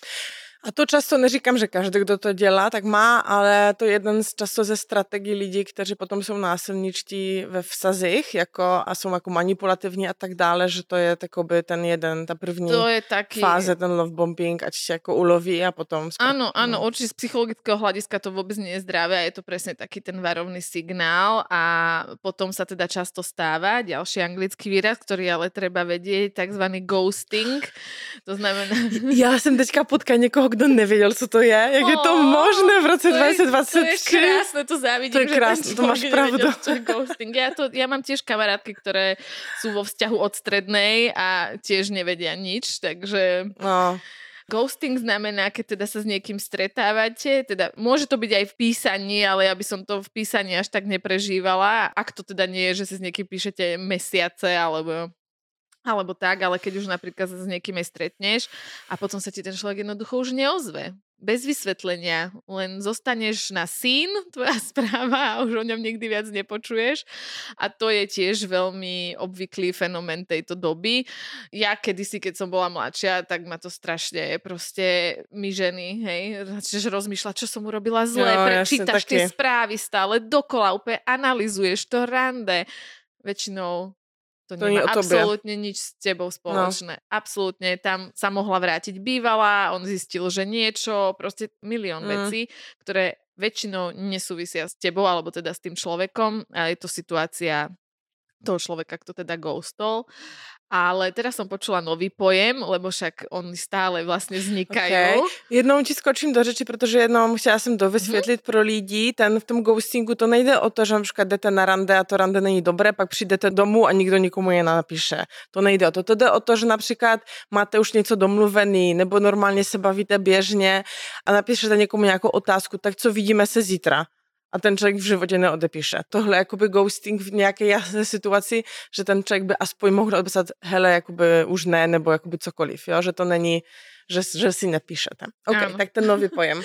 A to často neříkám, že každý, kdo to dělá, tak má, ale to je jeden z často ze strategií lidí, kteří potom jsou násilničtí ve vztazích jako, a jsou jako manipulativní a tak dále, že to je takoby ten jeden, ta první to je taký... fáze, ten love bombing, ať se jako uloví a potom... Spra- áno, áno, no. Určite z psychologického hľadiska to vôbec nie je zdravé a je to presne taký ten varovný signál a potom sa teda často stáva, ďalší anglický výraz, ktorý ale treba vedieť, takzvaný ghosting, to znamená... Já jsem teďka potkala někoho, kdo nevěděl, co to je. Jak oh, je to možné v roce dvacet dvacet tři? To je krásne, to závidím. To je krásne, to máš pravdu. Ghosting. Ja, to, ja mám tiež kamarátky, ktoré sú vo vzťahu od strednej a tiež nevedia nič, takže... No. Ghosting znamená, keď teda sa s niekým stretávate, teda môže to byť aj v písaní, ale ja by som to v písaní až tak neprežívala. Ak to teda nie je, že si s niekým píšete mesiace, alebo... alebo tak, ale keď už napríklad sa s niekým aj stretneš a potom sa ti ten človek jednoducho už neozve. Bez vysvetlenia. Len zostaneš na seen, tvoja správa a už o ňom nikdy viac nepočuješ. A to je tiež veľmi obvyklý fenomén tejto doby. Ja kedysi, keď som bola mladšia, tak ma to strašne proste my ženy, hej, začneš rozmýšľať, čo som urobila zle, jo, prečítaš tie správy stále dokola, úplne analyzuješ to rande. Väčšinou To, to nemá absolútne nič s tebou spoločné. No. Absolútne. Tam sa mohla vrátiť bývalá, on zistil, že niečo, proste milión mm. vecí, ktoré väčšinou nesúvisia s tebou, alebo teda s tým človekom. A je to situácia toho človeka, kto teda ghostol. Ale teraz som počula nový pojem, lebo však oni stále vlastně vznikají. Okay. Jednou ti skočím do řeči, protože jednou chtěla jsem to vysvětlit mm-hmm. pro lidi. Ten v tom ghostingu to nejde o to, že například jdete na rande a to rande není dobré, pak přijdete domů a nikdo nikomu je napíše. To nejde o to. To jde o to, že například máte už něco domluvený nebo normálně se bavíte běžně a napíšete někomu nějakou otázku, tak co vidíme se zítra. A ten člověk v životě neodepíše. Tohle je jakoby ghosting v nějaké jasné situaci, že ten člověk by aspoň mohl odepsat hele, jakoby už ne, nebo jakoby cokoliv, jo? Že to není, že, že si nepíšete. OK, ano. Tak ten nový pojem.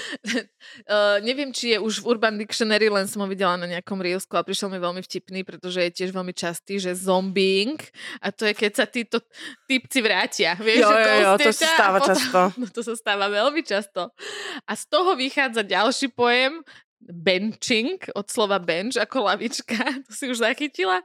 uh, neviem, či je už v Urban Dictionary, len som ho videla na nejakom reelsku a prišiel mi veľmi vtipný, pretože je tiež veľmi častý, že zombing, a to je, keď sa títo typci vrátia. Vieš, jo, že jo, jo, to sa stáva potom, často. No to sa stáva veľmi často. A z toho vychádza ďalší pojem, benching, od slova bench, ako lavička. To si už zachytila?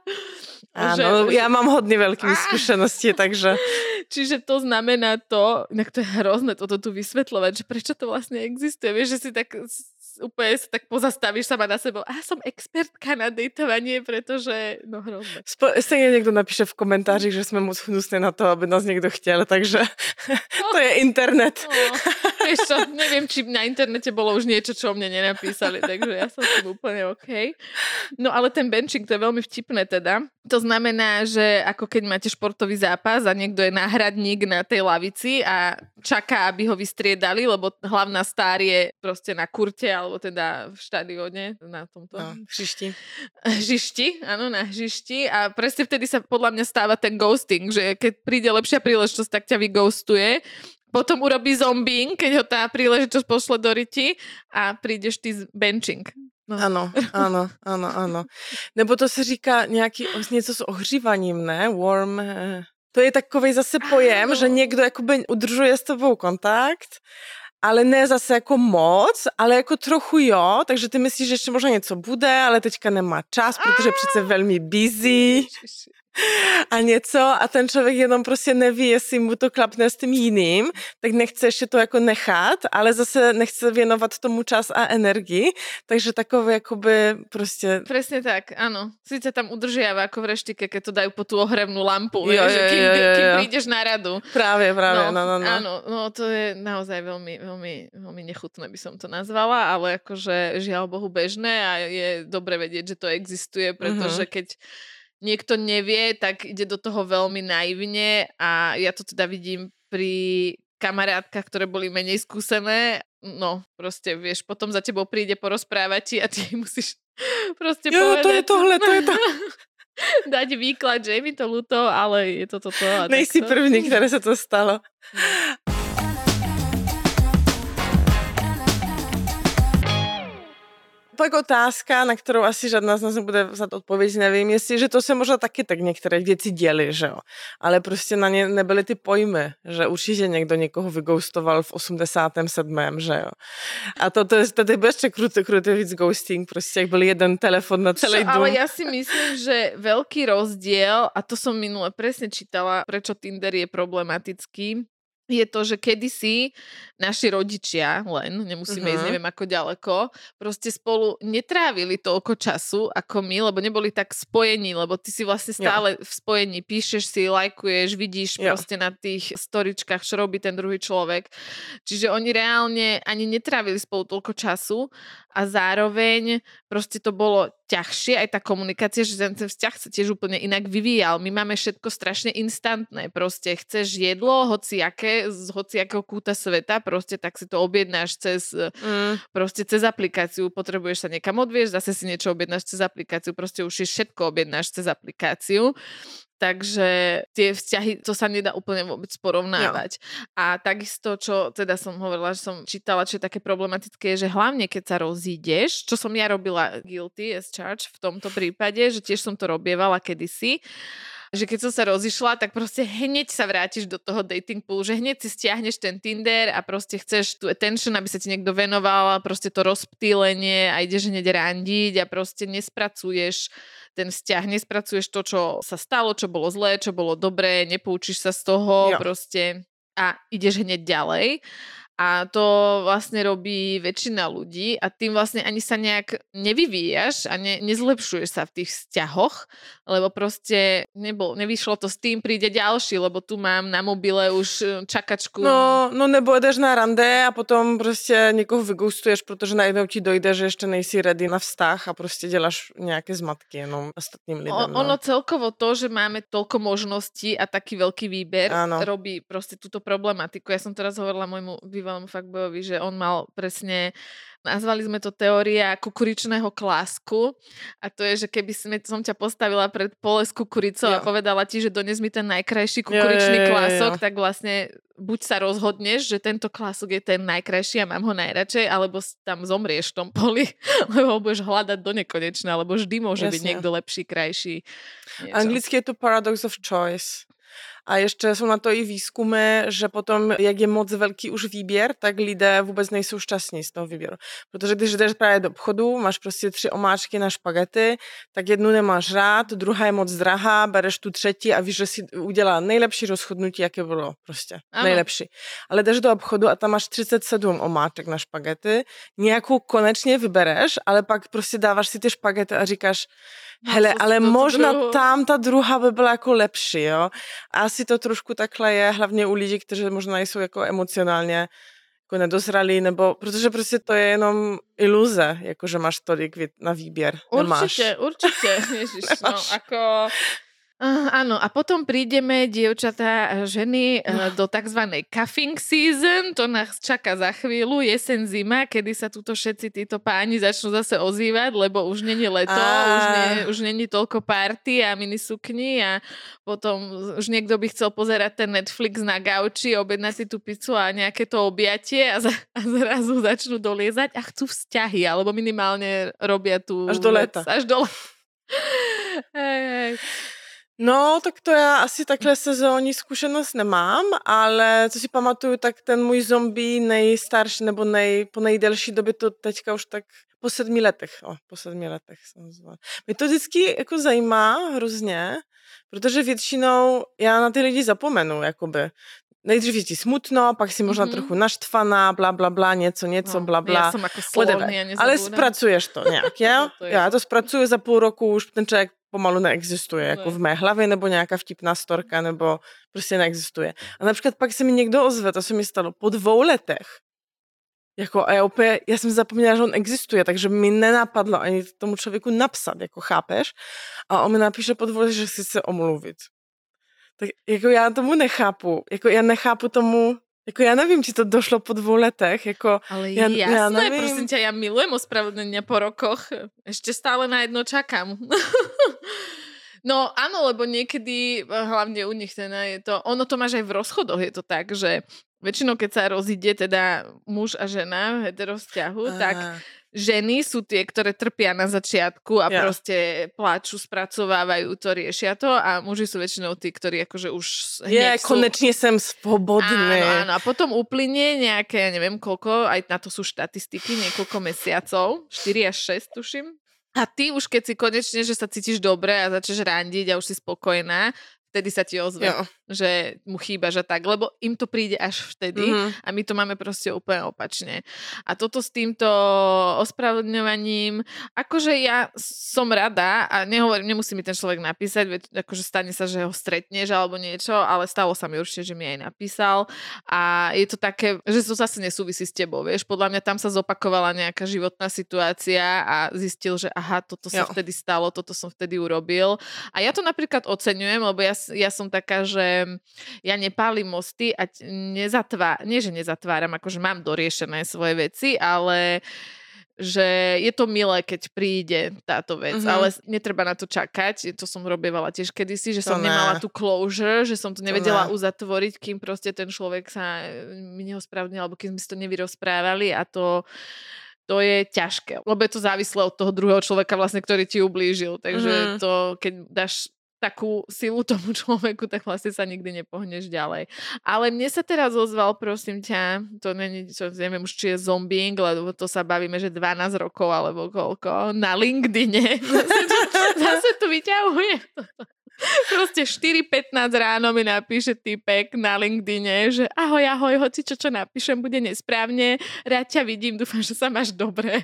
Áno, že... ja mám hodne veľké skúsenosti, takže... Čiže to znamená to, inak to je hrozné toto tu vysvetľovať, že prečo to vlastne existuje. Vieš, že si tak úplne sa tak pozastavíš sama na sebou. A som expertka na dejtovanie, pretože, no hrozné. Spo- stejně někdo napíše v komentářích, že jsme moc hnusné na to, aby nás někdo chtěl, takže no. To je internet. No. Vieš čo, neviem, či na internete bolo už niečo, čo o mne nenapísali, takže ja som s tým úplne OK. No ale ten benching, to je veľmi vtipné teda. To znamená, že ako keď máte športový zápas a niekto je náhradník na tej lavici a čaká, aby ho vystriedali, lebo hlavná star je proste na kurte, alebo teda v štadióne, na tomto... No, hřišti. Hřišti, áno, na hřišti. A presne vtedy sa podľa mňa stáva ten ghosting, že keď príde lepšia príležitosť, tak ťa vyghostuje. Potom urobí zombing, keď ho tá príležitosť pošle do riti a prídeš ty z benching. No. Ano, ano, ano, ano. Nebo to se říká nějaký, něco s ohřívaním, ne? Warm... To je takovej zase pojem, ano. Že někdo jakoby udržuje s tebou kontakt ale ne zase jako moc, ale jako trochu jo, takže ty myslíš, že ještě možná něco bude, ale teďka nemá čas, protože přece velmi busy a něco a ten člověk jenom prostě neví, jestli mu to klapne s tím jiným, tak nechce ještě to jako nechat, ale zase nechce věnovat tomu čas a energii, takže takové jakoby prostě... Presne tak, áno. Sice tam udržiava ako v reštike, keď to dajú po tú ohrevnú lampu, Jo, vieš, jo, kým, jo, jo, jo. kým prídeš na radu. Právě, právě, no, no, no. Áno, no to je naozaj veľmi, veľmi, veľmi nechutné by som to nazvala, ale akože žiaľ Bohu bežné a je dobre vedieť, že to existuje, pretože Mhm. keď niekto nevie, tak ide do toho veľmi naivne a ja to teda vidím pri kamarátkach, ktoré boli menej skúsené. No, proste, vieš, potom za tebou príde porozprávať ti a ty musíš proste Jo, povedať. to je tohle, to je to. Dať výklad, že je mi to ľúto, ale je to toto. A Nejsi takto. první, které se to stalo. Pak otázka, na kterou asi žádná z nás nebude vzat odpověď, nevím, jestli, že to se možná taky tak některé věci děly, že jo. Ale prostě na ně nebyly ty pojmy, že určitě někdo někoho vygoustoval v osmdesátém sedmém že jo. A to, to je, to je ještě krutý, krutý víc ghosting, prostě jak byl jeden telefon na celý Čo, dům. ale ja si myslím, že veľký rozdiel, a to som minule presne čítala, prečo Tinder je problematický, je to, že kedysi naši rodičia, len, nemusíme Mhm. ísť neviem ako ďaleko, proste spolu netrávili toľko času ako my, lebo neboli tak spojení, lebo ty si vlastne stále v spojení, píšeš si, lajkuješ, vidíš Jo. proste na tých storičkách, čo robí ten druhý človek. Čiže oni reálne ani netrávili spolu toľko času a zároveň proste to bolo ťažšie, aj tá komunikácia, že ten, ten vzťah sa tiež úplne inak vyvíjal. My máme všetko strašne instantné, proste chceš jedlo, hociaké, z hociakého kúta sveta, proste tak si to objednáš cez, Mm. proste cez aplikáciu, potrebuješ sa niekam odviesť, zase si niečo objednáš cez aplikáciu, proste už si všetko objednáš cez aplikáciu. Takže tie vzťahy, to sa nedá úplne vôbec porovnávať. A takisto, čo teda som hovorila, že som čítala, čo je také problematické, je, že hlavne keď sa rozídeš, čo som ja robila guilty as charged v tomto prípade, že tiež som to robievala kedysi, že keď som sa rozišla, tak proste hneď sa vrátiš do toho dating poolu, že hneď si stiahneš ten Tinder a proste chceš tú attention, aby sa ti niekto venoval, proste to rozptýlenie a ideš hneď randiť a proste nespracuješ ten vzťah, nespracuješ to, čo sa stalo, čo bolo zlé, čo bolo dobré, nepoučíš sa z toho Jo. proste a ideš hneď ďalej. A to vlastne robí väčšina ľudí a tým vlastne ani sa nejak nevyvíjaš a ne, nezlepšuješ sa v tých vzťahoch, lebo proste nebol, nevyšlo to s tým, príde ďalší, lebo tu mám na mobile už čakačku. No, no nebo jdeš na rande a potom prostě někoho vygoustuješ, protože najednou ti dojde, že ještě nejsi ready na vztah a prostě děláš nějaké zmatky jenom ostatním lidem. O, no. ono celkovo to, že máme toľko možností a taký veľký výber, Áno. robí proste túto problematiku. Ja som teraz hovorila môjmu bývalému fuckboyovi, že on mal presne, nazvali sme to teória kukuričného klásku a to je, že keby sme, som ťa postavila pred pole s kukuricou Jo. a povedala ti, že dones mi ten najkrajší kukuričný Jo, jo, jo, jo, klások, jo. tak vlastne buď sa rozhodneš, že tento klások je ten najkrajší a mám ho najradšej, alebo s- tam zomrieš v tom poli, lebo ho budeš hľadať do nekonečna, alebo vždy môže byť Jasne. niekto lepší, krajší. Niečo. Anglicky je to paradox of choice. A ještě jsou na to i výzkumy, že potom, jak je moc velký už výběr, tak lidé vůbec nejsou šťastní z toho výběru. Protože když jdeš právě do obchodu, máš prostě tři omáčky na špagety, tak jednu nemáš rád, druhá je moc drahá, bereš tu třetí a víš, že si udělá nejlepší rozhodnutí, jaké bylo prostě. Ano. Nejlepší. Ale jdeš do obchodu a tam máš třicet sedm omáček na špagety, nějakou konečně vybereš, ale pak prostě dáváš si ty špagety a říkáš, hele, co si ale do tu možná druhou. tam ta druhá by byla jako lepší, jo. A asi to trošku takhle je, hlavně u lidí, kteří možná jsou jako emocionálně jako nedozralí, nebo protože prostě to je jenom iluze, jako že máš tolik vý- na výběr. Nemáš. Určite, určite. Ježiš, no Nemáš. ako... Uh, áno, a potom prídeme, dievčatá a ženy, uh, do takzvanej cuffing season, to nás čaká za chvíľu, jeseň, zima, kedy sa tuto všetci títo páni začnú zase ozývať, lebo už není leto, Á. už, nie, už není toľko party a minisukni a potom už niekto by chcel pozerať ten Netflix na gauči, objednať si tú pizzu a nejaké to objatie a, za, a zrazu začnú doliezať a chcú vzťahy, alebo minimálne robia tú Až do vec, leta. až do leta. Hej, hej. No, tak to já asi takhle sezónní zkušenost nemám, ale co si pamatuju, tak ten můj zombie nejstarší nebo nej, po nejdelší době to teďka už tak po sedmi letech, o, po sedmi letech jsem zvala. Mě to vždycky jako zajímá hrozně, protože většinou já na ty lidi zapomenu, jakoby. Nejdřív je ti smutno, pak si možná mm-hmm. trochu naštvaná, bla, bla, bla, něco, něco, no, bla, bla. Já jsem jako slovný a nezabudám. Ale spracuješ to nějak, jo? to Já to zpracuju za půl roku, už ten člověk pomalu neexistuje, jako v mé hlavě, nebo nějaká vtipná storka, nebo prostě neexistuje. A například pak se mi někdo ozve, to se mi stalo po dvou letech. Jako, a já úplně, já jsem zapomněla, že on existuje, takže mi nenapadlo ani tomu člověku napsat, jako chápeš? A on mi napíše po dvou letech, že si chce omluvit. Tak jako já tomu nechápu, jako já nechápu tomu, jako já nevím, či to došlo po dvou letech, jako ale ja, jasné, ja nevím. prosím ťa, ja milujem ospravedlnenia po rokoch, ešte stále na jedno čakám. No áno, lebo niekedy, hlavne u nich teda je to, ono to máš aj v rozchodoch, je to tak, že väčšinou keď sa rozíde teda muž a žena v heterovzťahu, Aha. tak ženy sú tie, ktoré trpia na začiatku a ja. proste pláču, spracovávajú to, riešia to a muži sú väčšinou tí, ktorí akože už Je, sú... konečne som svobodný. Áno, áno. A potom uplynie nejaké, ja neviem koľko, aj na to sú štatistiky, niekoľko mesiacov, štyri až šesť tuším. A ty už keď si konečne, že sa cítiš dobre a začneš randiť a už si spokojná, vtedy sa ti ozve, jo. Že mu chýbaš a tak, lebo im to príde až vtedy mm-hmm. a my to máme proste úplne opačne. A toto s týmto ospravedlňovaním, akože ja som rada a nehovorím, nemusí mi ten človek napísať, veď akože stane sa, že ho stretneš alebo niečo, ale stalo sa mi určite, že mi aj napísal a je to také, že to zase nesúvisí s tebou, vieš, podľa mňa tam sa zopakovala nejaká životná situácia a zistil, že aha, toto sa vtedy stalo, toto som vtedy urobil a ja to napríklad oceňujem, lebo ja ja som taká, že ja nepálim mosty a nezatváram, nie že nezatváram, akože mám doriešené svoje veci, ale že je to milé, keď príde táto vec, mm-hmm. ale netreba na to čakať, to som robievala tiež kedysi, že to som ne. nemala tú closure, že som to nevedela to uzatvoriť, kým proste ten človek sa mi neospravedlnil, alebo kým sme si to nevyrozprávali a to to je ťažké, lebo je to závislé od toho druhého človeka vlastne, ktorý ti ublížil, takže mm-hmm. to, keď dáš takú silu tomu človeku, tak vlastne sa nikdy nepohneš ďalej. Ale mne sa teraz ozval, prosím ťa, to není, čo neviem už, či je zombing, lebo to sa bavíme, že dvanásť rokov alebo koľko, na LinkedIne. Zase to, zase to vyťahuje. Proste štyri pätnásť ráno mi napíše týpek na LinkedIne, že ahoj, ahoj, hoci čo, čo napíšem, bude nesprávne, rád ťa vidím, dúfam, že sa máš dobre.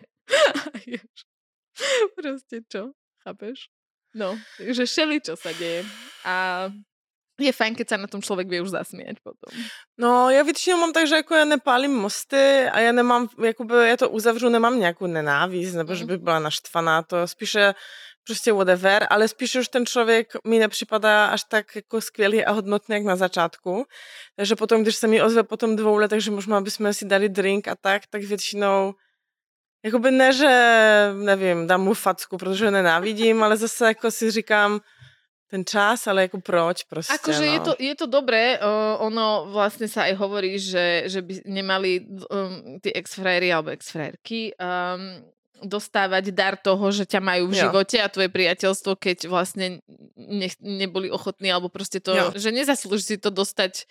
Proste čo, chápeš? No, takže všeli, čo sa deje. A je fajn, keď sa na tom človek vie už zasmiať potom. No, já většinou mám tak, že jako já nepálím mosty a já nemám, jakoby, já to uzavřu, nemám nějakou nenávist, nebo mm. že bych byla naštvaná, to spíše prostě whatever, ale spíše už ten člověk mi nepřipadá až tak jako skvělý a hodnotný, jak na začátku. Takže potom, když se mi ozve po tom dvou letech, že možná bychom si dali drink a tak, tak většinou jakoby ne, že nevím, dám mu facku, protože ho nenávidím, ale zase jako si říkám, ten čas, ale ako proč proste, akože no. je to, je to dobré, uh, ono vlastne sa aj hovorí, že, že by nemali um, tí ex-frajery alebo ex-frajerky um, dostávať dar toho, že ťa majú v jo. živote a tvoje priateľstvo, keď vlastne ne, neboli ochotní, alebo proste to, jo. že nezaslúži si to dostať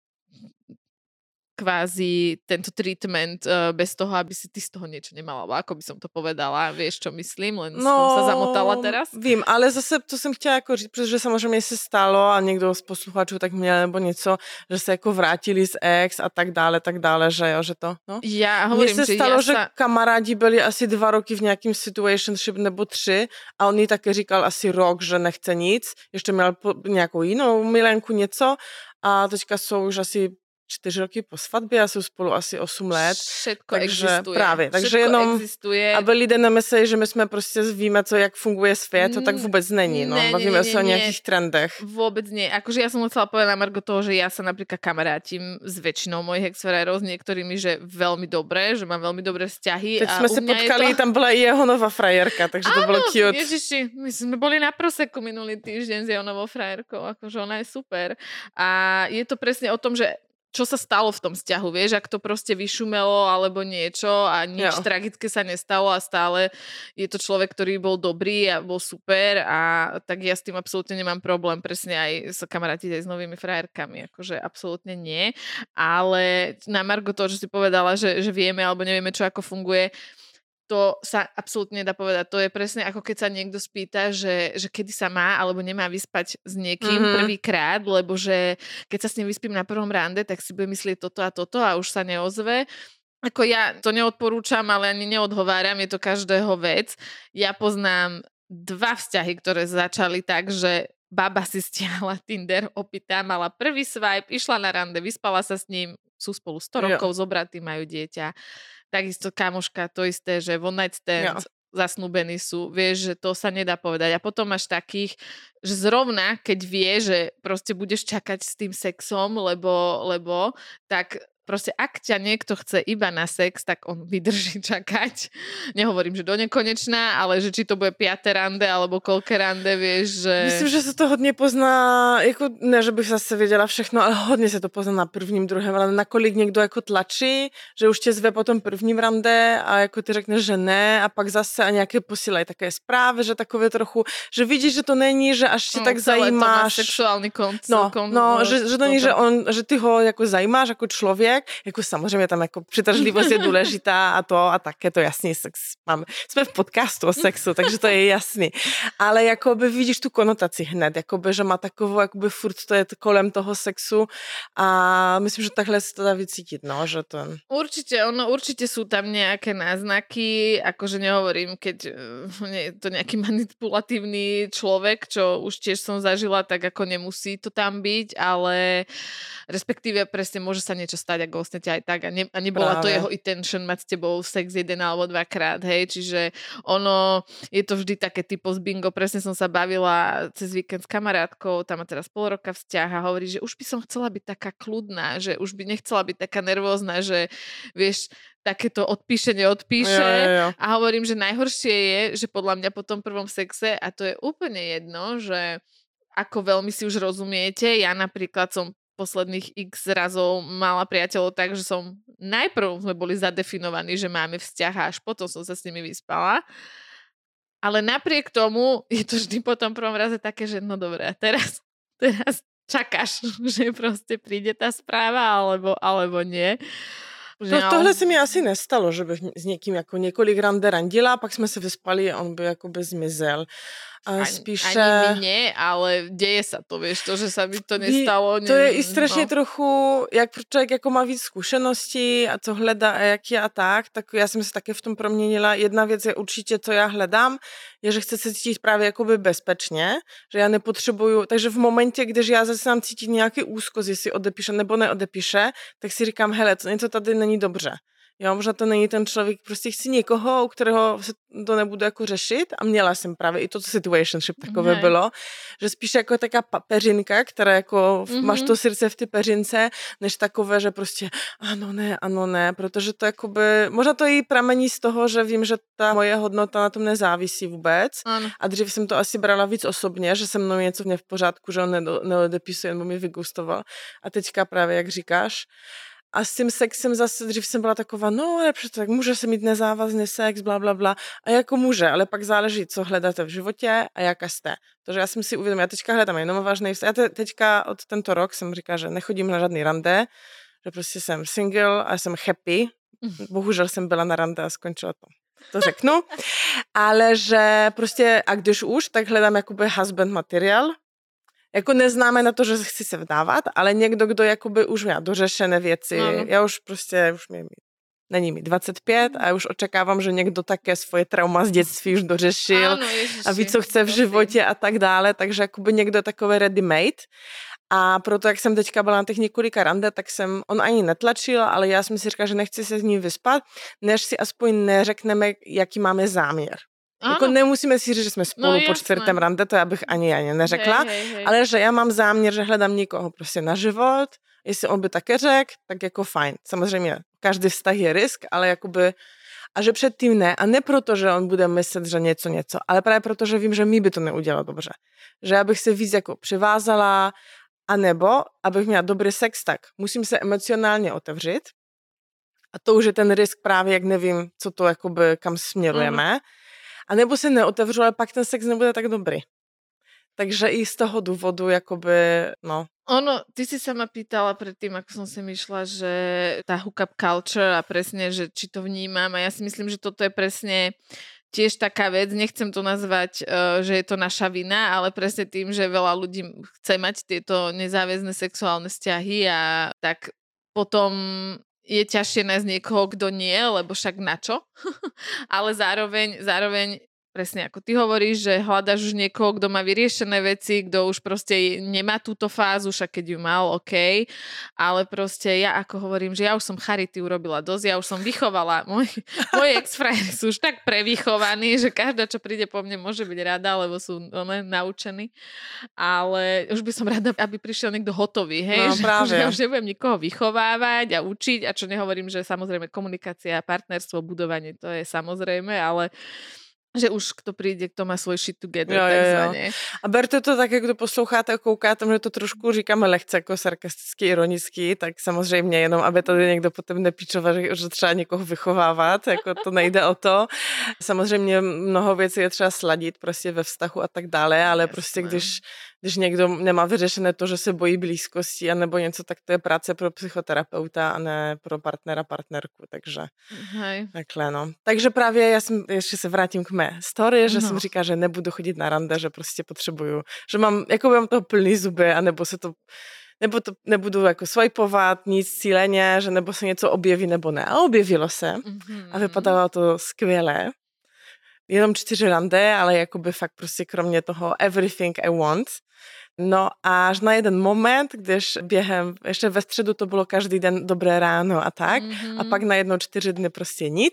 kvázi tento treatment uh, bez toho, aby si ty z toho niečo nemala. Ako by som to povedala, vieš, čo myslím? Len no, som sa zamotala teraz. Vím, ale zase to jsem chtěla jako říct, protože samozřejmě se stalo a někdo z posluchačů tak měl nebo něco, že se jako vrátili z ex a tak dále, tak dále, že jo, že to, no. Já hovorím, Mně se že stalo, ja že sa... kamarádi byli asi dva roky v nějakým situationship nebo tři a on jí také říkal asi rok, že nechce nic, ještě měl po, nějakou jinou milenku něco a teďka jsou už asi čtyři roky po svatbě a jsou spolu asi osm let. Všetko takže existuje. Právě, takže Všetko jenom, existuje. aby lidé nemysleli, že my jsme prostě víme, co, jak funguje svět, to tak vůbec není. No. Ne, Bavíme ne, se o ne, nějakých trendech. Vôbec nie. Akože ja som chcela povedať na margo toho, že ja sa napríklad kamarátim s väčšinou mojich ex-frérov, s niektorými, že veľmi dobré, že mám veľmi dobré vzťahy. Teď a jsme se potkali, to... tam byla i jeho nová frajerka, takže áno, to bylo cute. Ježiši, my sme boli na proseku minulý týždeň s jeho novou frajerkou, akože ona je super. A je to presne o tom, že čo sa stalo v tom vzťahu, vieš, ak to proste vyšumelo alebo niečo a nič jo. tragické sa nestalo a stále je to človek, ktorý bol dobrý a bol super a tak ja s tým absolútne nemám problém, presne aj sa kamarátiť aj s novými frajerkami, akože absolútne nie, ale na margo toho, že si povedala, že, že vieme alebo nevieme, čo ako funguje, to sa absolútne nedá povedať. To je presne ako keď sa niekto spýta, že, že kedy sa má alebo nemá vyspať s niekým mm-hmm. prvýkrát, lebo že keď sa s ním vyspím na prvom rande, tak si bude myslieť toto a toto a už sa neozve. Ako ja to neodporúčam, ale ani neodhováram, je to každého vec. Ja poznám dva vzťahy, ktoré začali tak, že baba si stiahla Tinder, opýta, mala prvý swipe, išla na rande, vyspala sa s ním, sú spolu sto rokov, jo. Zobratí, majú dieťa. Takisto kamoška, to isté, že one night stand, jo. Zasnúbení sú, vieš, že to sa nedá povedať. A potom máš takých, že zrovna, keď vie, že proste budeš čakať s tým sexom, lebo, lebo tak proste ak ťa niekto chce iba na sex, tak on vydrží čakať. Nehovorím, že do nekonečná, ale že či to bude piate rande, alebo koľké rande, vieš, že... Myslím, že sa to hodně pozná, jako, ne, že bych zase věděla všechno, ale hodně se to pozná na prvním, druhém, ale nakolik někdo jako tlačí, že už tě zve po tom prvním rande a jako ty řekneš, že ne a pak zase a nějaké posílají také zprávy, že takové trochu, že vidíš, že to není, že až tě no, tak zajímáš. To má sexuální konc. No, kon, no, že, že to není, že, on, že ty ho jako zajímáš jako člověk, jako samozřejmě tam jako přitažlivost je důležitá a to a tak je to jasný sex. Máme. Jsme v podcastu o sexu, takže to je jasný. Ale jakoby vidíš tu konotaci hned, jakoby, že má takovou, jakoby furt to je kolem toho sexu a myslím, že takhle se to dá vycítiť, no, že to... Určite, ono, určite sú tam nejaké náznaky, akože nehovorím, keď nie je to nejaký manipulatívny človek, čo už tiež som zažila, tak ako nemusí to tam byť, ale respektíve presne môže sa niečo stať, ako vlastne aj tak a, ne, a nebola Práve. To jeho intention mať s tebou sex jeden alebo dvakrát, hej, čiže ono, je to vždy také typo z bingo, presne som sa bavila cez víkend s kamarátkou, tam má teraz pol roka vzťah a hovorí, že už by som chcela byť taká kľudná, že už by nechcela byť taká nervózna, že vieš, takéto odpíše, neodpíše jo, jo, jo. A hovorím, že najhoršie je, že podľa mňa po tom prvom sexe, a to je úplne jedno, že ako veľmi si už rozumiete, ja napríklad som posledných x razov mala priateľov tak, že som najprv sme boli zadefinovaní, že máme vzťah a až potom som sa s nimi vyspala. Ale napriek tomu je to vždy po tom prvom raze také, že no dobré, teraz, teraz čakáš, že proste príde tá správa alebo, alebo nie. To, tohle se mi asi nestalo, že bych s někým jako několik rande randila, pak jsme se vyspali a on by jakoby zmizel. A spíše... Ani mi nie, ale deje sa to, vieš, to, že sa mi to nestalo. To je i strašně no. trochu, jak člověk jako má víc zkušeností a co hledá a jak je a tak, tak já jsem se také v tom proměnila. Jedna věc je určitě, co já hledám, je, že chci se cítit právě jakoby bezpečně, že já nepotřebuju, takže v momentě, když já zase mám cítit nějaký úzkost, jestli odepíše nebo neodepíše, tak si říkám, hele, to něco tady není dobře. Jo, možná to není ten člověk, prostě chci někoho, u kterého se to nebudu jako řešit a měla jsem právě i to situationship takové ne. Bylo, že spíš jako taká peřinka, která jako mm-hmm. máš to srdce v ty peřince, než takové, že prostě ano ne, ano ne, protože to jakoby, možná to i pramení z toho, že vím, že ta moje hodnota na tom nezávisí vůbec ano. A dřív jsem to asi brala víc osobně, že se mnou něco v v pořádku, že on neodepisuje, nebo mi vygustoval a teďka právě, jak říkáš. A s tím sexem zase, dřív jsem byla taková, no ale přesto tak může se mít nezávazný sex, bla, bla, bla. A jako může, ale pak záleží, co hledáte v životě a jaká jste. Protože já jsem si uvědomila, já teďka hledám jenom vážný vztah. Já te, teďka od tento rok jsem říkala, že nechodím na žádný rande, že prostě jsem single a jsem happy. Bohužel jsem byla na rande a skončila to. To řeknu. Ale že prostě, a když už, tak hledám jakoby husband materiál. Jako neznamená to, že chci se vdávat, ale někdo, kdo jakoby už má dořešené věci. Ano. Já už prostě, už mi, není mi dvacet pět a už očekávám, že někdo také svoje trauma z dětství už dořešil ano, a ví, co chce v životě a tak dále, takže jakoby někdo takové ready made. A proto, jak jsem teďka byla na těch několika rande, tak jsem, on ani netlačil, ale já jsem si říkala, že nechci se s ním vyspat, než si aspoň neřekneme, jaký máme záměr. Jako nemusíme si říct, že jsme spolu no, po čtvrtém rande, to já bych ani ani neřekla, hej, hej, hej. Ale že já mám záměr, že hledám někoho prostě na život, jestli on by také řekl, tak jako fajn. Samozřejmě každý vztah je risk, ale jakoby, a že předtím ne, a ne proto, že on bude myslet, že něco, něco, ale právě proto, že vím, že mi by to neudělalo dobře. Že já bych se víc jako přivázala, A nebo, abych měla dobrý sex, tak musím se emocionálně otevřít. A to už je ten risk právě, jak nevím, co to jakoby, kam směrujeme. Mm. A nebo se neotevřu, ale pak ten sex nebude tak dobrý. Takže i z toho důvodu, jakoby, no. Ono, ty si sa ma pýtala predtým, ako som sem išla, že tá hookup culture a presne, že či to vnímam a ja si myslím, že toto je presne tiež taká vec, nechcem to nazvať, uh, že je to naša vina, ale presne tým, že veľa ľudí chce mať tieto nezáväzné sexuálne vzťahy a tak potom je ťažšie nájsť niekoho, kto nie, lebo však na čo? Ale zároveň, zároveň presne ako ty hovoríš, že hľadaš už niekoho, kto má vyriešené veci, kto už proste nemá túto fázu, však keď ju mal, OK, ale proste ja ako hovorím, že ja už som charity urobila dosť, ja už som vychovala, moji, moji ex-frajeri sú už tak prevychovaní, že každá, čo príde po mne, môže byť rada, lebo sú one, naučení, ale už by som rada, aby prišiel niekto hotový, hej, no, že, že ja už nebudem nikoho vychovávať a učiť, a čo nehovorím, že samozrejme komunikácia, partnerstvo, budovanie, to je samozrejme, ale že už kdo přijde, kdo má svůj shit together, jo, takzvaně. Jo. A berte to tak, jak kdo posloucháte a koukáte, že to trošku říkáme lehce jako sarkasticky, ironicky, tak samozřejmě jenom, aby tady někdo potom nepíčoval, že třeba někoho vychovávat, jako to nejde o to. Samozřejmě mnoho věcí je třeba sladit prostě ve vztahu a tak dále, ale Jasné. prostě když když někdo nemá vyřešené to, že se bojí blízkosti anebo něco, tak to je práce pro psychoterapeuta a ne pro partnera, partnerku, takže Hej. takhle, no. Takže právě já jsem, ještě se vrátím k mé story, že no. jsem říkala, že nebudu chodit na rande, že prostě potřebuju, že mám, jako mám toho plný zuby, anebo se to, nebo to nebudu jako swipovat, nic cíleně, že nebo se něco objeví, nebo ne. A objevilo se mm-hmm. a vypadalo to skvěle. Jenom čtyři rande, ale jakoby fakt prostě kromě toho everything I want. No a až na jeden moment, když během, ještě ve středu to bylo každý den dobré ráno a tak, mm-hmm. a pak najednou čtyři dny prostě nic.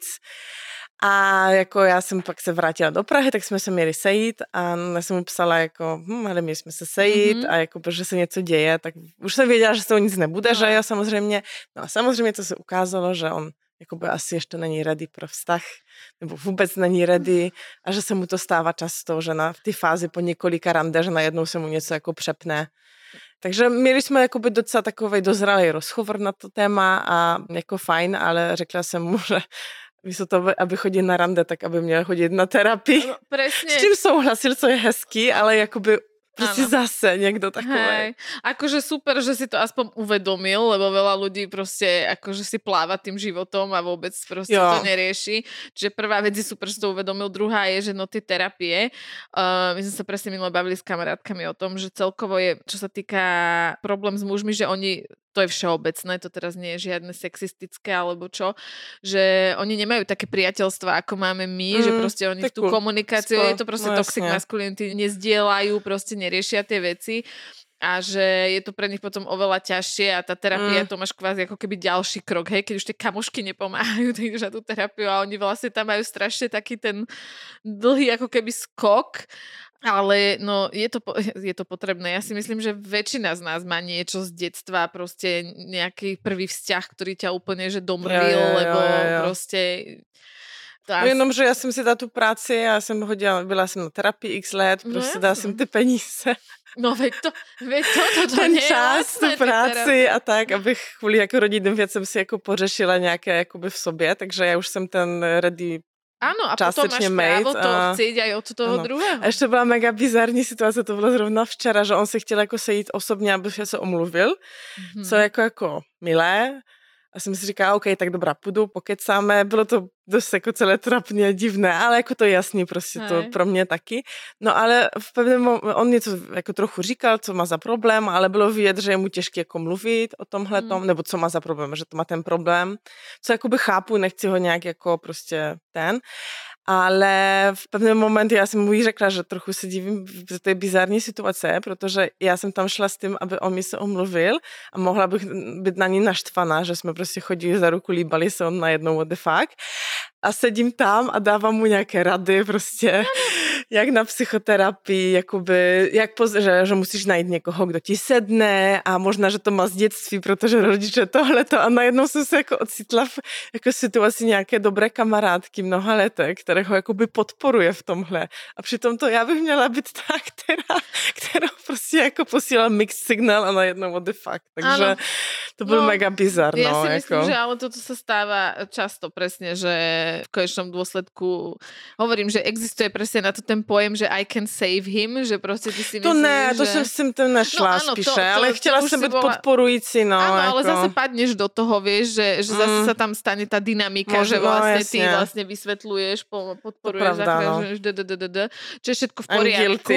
A jako já jsem pak se vrátila do Prahy, tak jsme se měli sejít a já jsem mu psala jako, hm, ale měli jsme se sejít mm-hmm. a jako, že se něco děje, tak už jsem věděla, že z toho nic nebude, no. že jo, samozřejmě. No a samozřejmě to se ukázalo, že on jakoby asi ještě není ready pro vztah, nebo vůbec není ready a že se mu to stává často, že na v té fázi po několika rande, že najednou se mu něco jako přepne. Takže měli jsme jakoby docela takovej dozralý rozhovor na to téma a jako fajn, ale řekla jsem mu, že místo toho, aby chodil na rande, tak aby měl chodit na terapii. No, presne. S čím souhlasil, co je hezký, ale jakoby Proste zase niekto takové. Akože super, že si to aspoň uvedomil, lebo veľa ľudí proste akože si pláva tým životom a vôbec proste jo. to nerieši. Čiže prvá vec je super, že to uvedomil. Druhá je, že no tie terapie, uh, my sme sa presne minule bavili s kamarátkami o tom, že celkovo je, čo sa týka problém s mužmi, že oni to je všeobecné, to teraz nie je žiadne sexistické alebo čo, že oni nemajú také priateľstva, ako máme my, mm, že proste oni tú komunikáciu, Spo, je to proste no, toxic masculinity, nezdielajú, proste neriešia tie veci a že je to pre nich potom oveľa ťažšie a tá terapia, mm. to máš kvázi ako keby ďalší krok, hej, keď už tie kamošky nepomáhajú, tak ideš na tú terapiu a oni vlastne tam majú strašne taký ten dlhý ako keby skok. Ale no, je to, je to potrebné. Ja si myslím, že väčšina z nás má niečo z detstva, proste nejaký prvý vzťah, ktorý ťa úplne že domrvil, jo, jo, jo, lebo jo, jo. proste... No jenom, že já jsem si dala tu práci, já jsem hodila, byla jsem na terapii x let, prostě no, dala jsem ty peníze. No veď to, veď to, to, to ten čas, tu práci a tak, abych kvůli jako rodinným věcem si jako pořešila nějaké jakoby v sobě, takže já už jsem ten ready. Áno, a potom máš právo to a... chcieť aj od toho ano. druhého. A ještě byla mega bizarní situace, to bylo zrovna včera, že on se chtěl jako sejít osobně, aby se omluvil, mm-hmm. co jako jako milé. A jsem si říkala, OK, tak dobrá, půjdu, pokecáme. Bylo to dost jako celé trapně, divné, ale jako to jasný prostě Hej. to pro mě taky. No ale v pevném momentu on něco jako trochu říkal, co má za problém, ale bylo vidět, že je mu těžké jako mluvit o tomhletom, hmm. nebo co má za problém, že to má ten problém. Co jakoby chápu, nechci ho nějak jako prostě ten. Ale v pevném momentu já jsem mu jí řekla, že trochu se divím, že to je bizarní situace, protože já jsem tam šla s tím, aby on mi se omluvil a mohla bych být na ní naštvaná, že jsme prostě chodili za ruku, líbali se on najednou what the fuck. A sedím tam a dávám mu nějaké rady prostě, jak na psychoterapii, jakoby, jak poz, že, že musíš najít někoho, kdo ti sedne a možná, že to má z dětství, protože rodiče tohleto a najednou jsem se jako ocitla v jako situaci nějaké dobré kamarádky mnoha leté, které ho jakoby podporuje v tomhle. A přitom to já bych měla být ta, která, která prostě jako posílala mixed signal a najednou what the fuck. Takže ano. To byl no, mega bizar. Ja no, si jako. myslím, že ale toto sa stáva často presne, že v konečnom dôsledku hovorím, že existuje presne na to ten pojem, že I can save him, že proste ty si myslíš, to ne, že... to jsem s tím nešla no, áno, spíše, to, to, ale chtěla jsem být bola... podporující. No, áno, jako. ale zase padneš do toho, vieš, že, že mm. zase sa tam stane tá dynamika, Možno, že vlastne ty vlastne vysvetľuješ, podporuješ, zakrážuješ, no. čo je všetko v poriadku.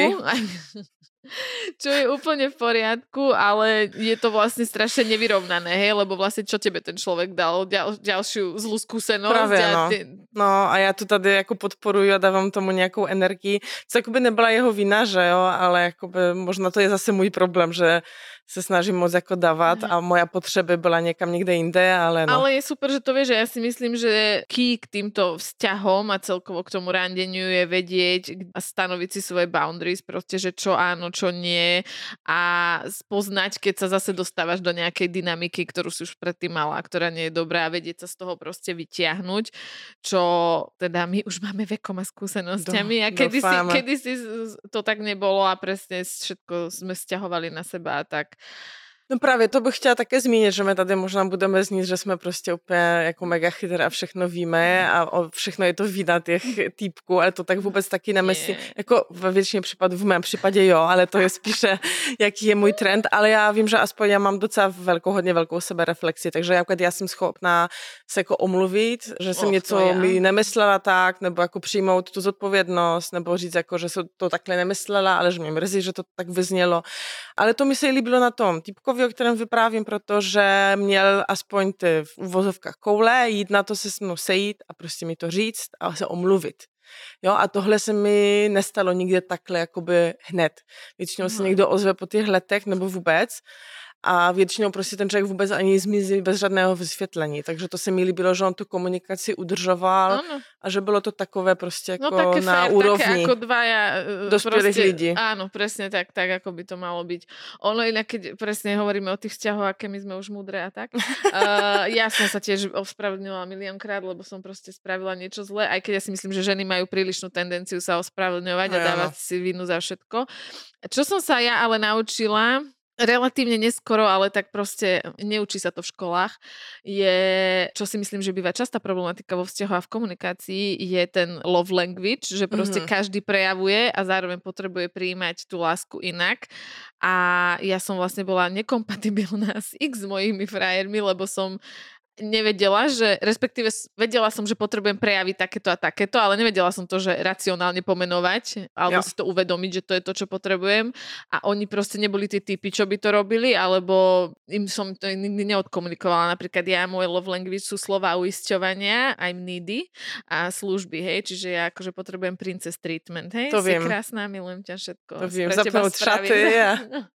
Čo je úplne v poriadku, ale je to vlastne strašne nevyrovnané, hej, lebo vlastne čo tebe ten človek dal ďal, ďalšiu zlú skúsenosť. Právě, a no. Ty... no a já to tady jako podporuju a dávám tomu nějakou energii, co jakoby nebyla jeho vina, že jo, ale jakoby možná to je zase můj problém, že se snažím moc jako dávat a moja potřeby byla někam někde jinde, ale no. Ale je super, že to vieš, že ja si myslím, že key k týmto vzťahom a celkovo k tomu randeniu je vedieť a stanoviť si svoje boundaries, proste, že čo áno, čo nie a spoznať, keď sa zase dostávaš do nejakej dynamiky, ktorú si už predtým mala, ktorá nie je dobrá a vedieť sa z toho proste vytiahnuť, čo teda my už máme vekom a skúsenosťami Do, a kedysi, kedysi to tak nebolo a presne všetko sme sťahovali na seba a tak. No právě to bych chtěla také zmínit, že my tady možná budeme znít, že jsme prostě úplně jako mega chytré a všechno víme a o všechno je to vina těch týpků, ale to tak vůbec taky nemyslím. Jako ve většině případů, v mém případě jo, ale to je spíše, jaký je můj trend, ale já vím, že aspoň já mám docela velkou, hodně velkou sebereflexi, takže já, já jsem schopná se jako omluvit, že jsem oh, něco mi nemyslela tak, nebo jako přijmout tu zodpovědnost, nebo říct jako, že jsem to takhle nemyslela, ale že mě mrzí, že to tak vyznělo. Ale to mi se líbilo na tom týpku, o kterém vyprávím, protože měl aspoň ty v uvozovkách koule, jít na to se s mnou sejít a prostě mi to říct a se omluvit. Jo, a tohle se mi nestalo nikdy takhle jakoby hned. Většinou se někdo ozve po těch letech nebo vůbec a většinou prostě ten člověk vůbec ani zmizí bez žádného vysvětlení. Takže to se mi líbilo, že on tu komunikaci udržoval ano. A že bylo to takové prostě jako no, také na fair, úrovni také ako dvaja dospělých lidí. Áno, presne tak, tak, ako by to malo byť. Ono inak, keď presne hovoríme o tých vzťahoch, aké my sme už múdre a tak. uh, ja som sa tiež ospravedlňovala miliónkrát, lebo som proste spravila niečo zlé, aj keď ja si myslím, že ženy majú prílišnú tendenciu sa ospravedlňovať no, a dávať no. si vinu za všetko. Čo som sa ja ale naučila relatívne neskoro, ale tak proste neučí sa to v školách, je, čo si myslím, že býva častá problematika vo vzťahu a v komunikácii, je ten love language, že proste mm-hmm. každý prejavuje a zároveň potrebuje prijímať tú lásku inak. A ja som vlastne bola nekompatibilná s x mojimi frajermi, lebo som nevedela, že respektíve vedela som, že potrebujem prejaviť takéto a takéto, ale nevedela som to, že racionálne pomenovať alebo jo. Si to uvedomiť, že to je to, čo potrebujem a oni proste neboli tí typy, čo by to robili, alebo im som to nikdy neodkomunikovala. Napríklad ja, moje love language sú slova uisťovania, I'm needy a služby, hej, čiže ja akože potrebujem princess treatment, hej, to si viem. Krásna, milujem ťa všetko. To viem, zapnúť šaty a...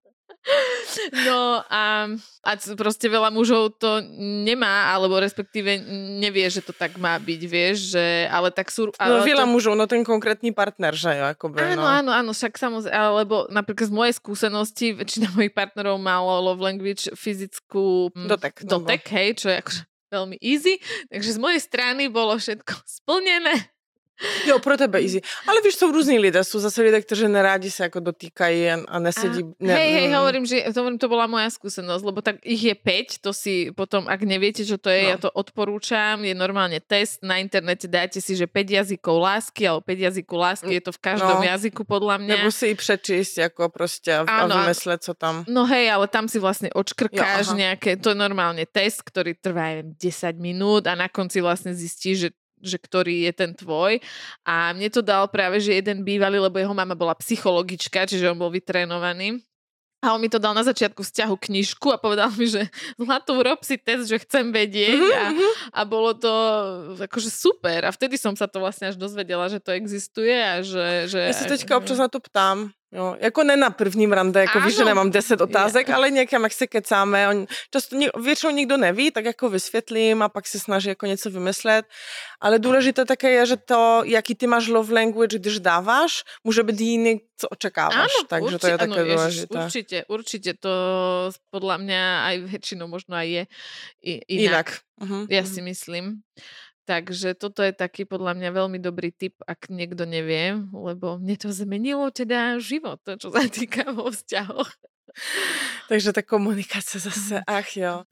No a, a proste veľa mužov to nemá, alebo respektíve nevie, že to tak má byť, vieš, že, ale tak sú... Ale no veľa to... mužov, no ten konkrétny partner, že jo, akoby, áno, no. áno, áno, však samozrejme, alebo napríklad z mojej skúsenosti, väčšina mojich partnerov malo love language fyzickú dotek, dotek no, hej, čo je akože veľmi easy, takže z mojej strany bolo všetko splnené. Jo, pro tebe easy. Ale víš, jsou různí lidé. Jsou zase lidé, kteří nerádi se jako dotýkají a nesedí. A, ne, hej, hej, hovorím, že to, to bola moja skúsenosť, lebo tak ich je päť, to si potom, ak neviete, čo to je, no. Ja to odporúčam, je normálne test, na internete dáte si, že päť jazykov lásky, alebo päť jazykov lásky, je to v každom no. jazyku podľa mňa. Nebo si i přečíst, jako prostě a, a vymyslet, co tam. No hej, ale tam si vlastne odškrkáš jo, nejaké, to je normálne test, ktorý trvá desať minút a na konci vlastne zistíš, že že ktorý je ten tvoj. A mne to dal práve, že jeden bývalý, lebo jeho mama bola psychologička, čiže on bol vytrénovaný. A on mi to dal na začiatku vzťahu knižku a povedal mi, že Zlatú, rob si test, že chcem vedieť. A, a bolo to akože super. A vtedy som sa to vlastne až dozvedela, že to existuje a že... že ja sa teďka občas na to ptám. Jo, jako ne na prvním rande, jako Áno. víš, že nemám deset otázek, Ja. ale někam, jak se kecáme, on, často většinou nikdo neví, tak jako vysvětlím a pak se snaží jako něco vymyslet, ale důležité také je, že to, jaký ty máš love language, když dáváš, může být jiný, co očekáváš, Áno, takže určite, to je také áno, důležité. Ježiš, určite, určite to podľa mňa aj väčšinou možno aj je i- inak. Jinak. Uh-huh, Ja uh-huh. si myslím. Takže toto je taký podľa mňa veľmi dobrý tip, ak niekto nevie, lebo mne to zmenilo teda život, to, čo sa týka vo vzťahoch. Takže ta komunikace zase, ach jo.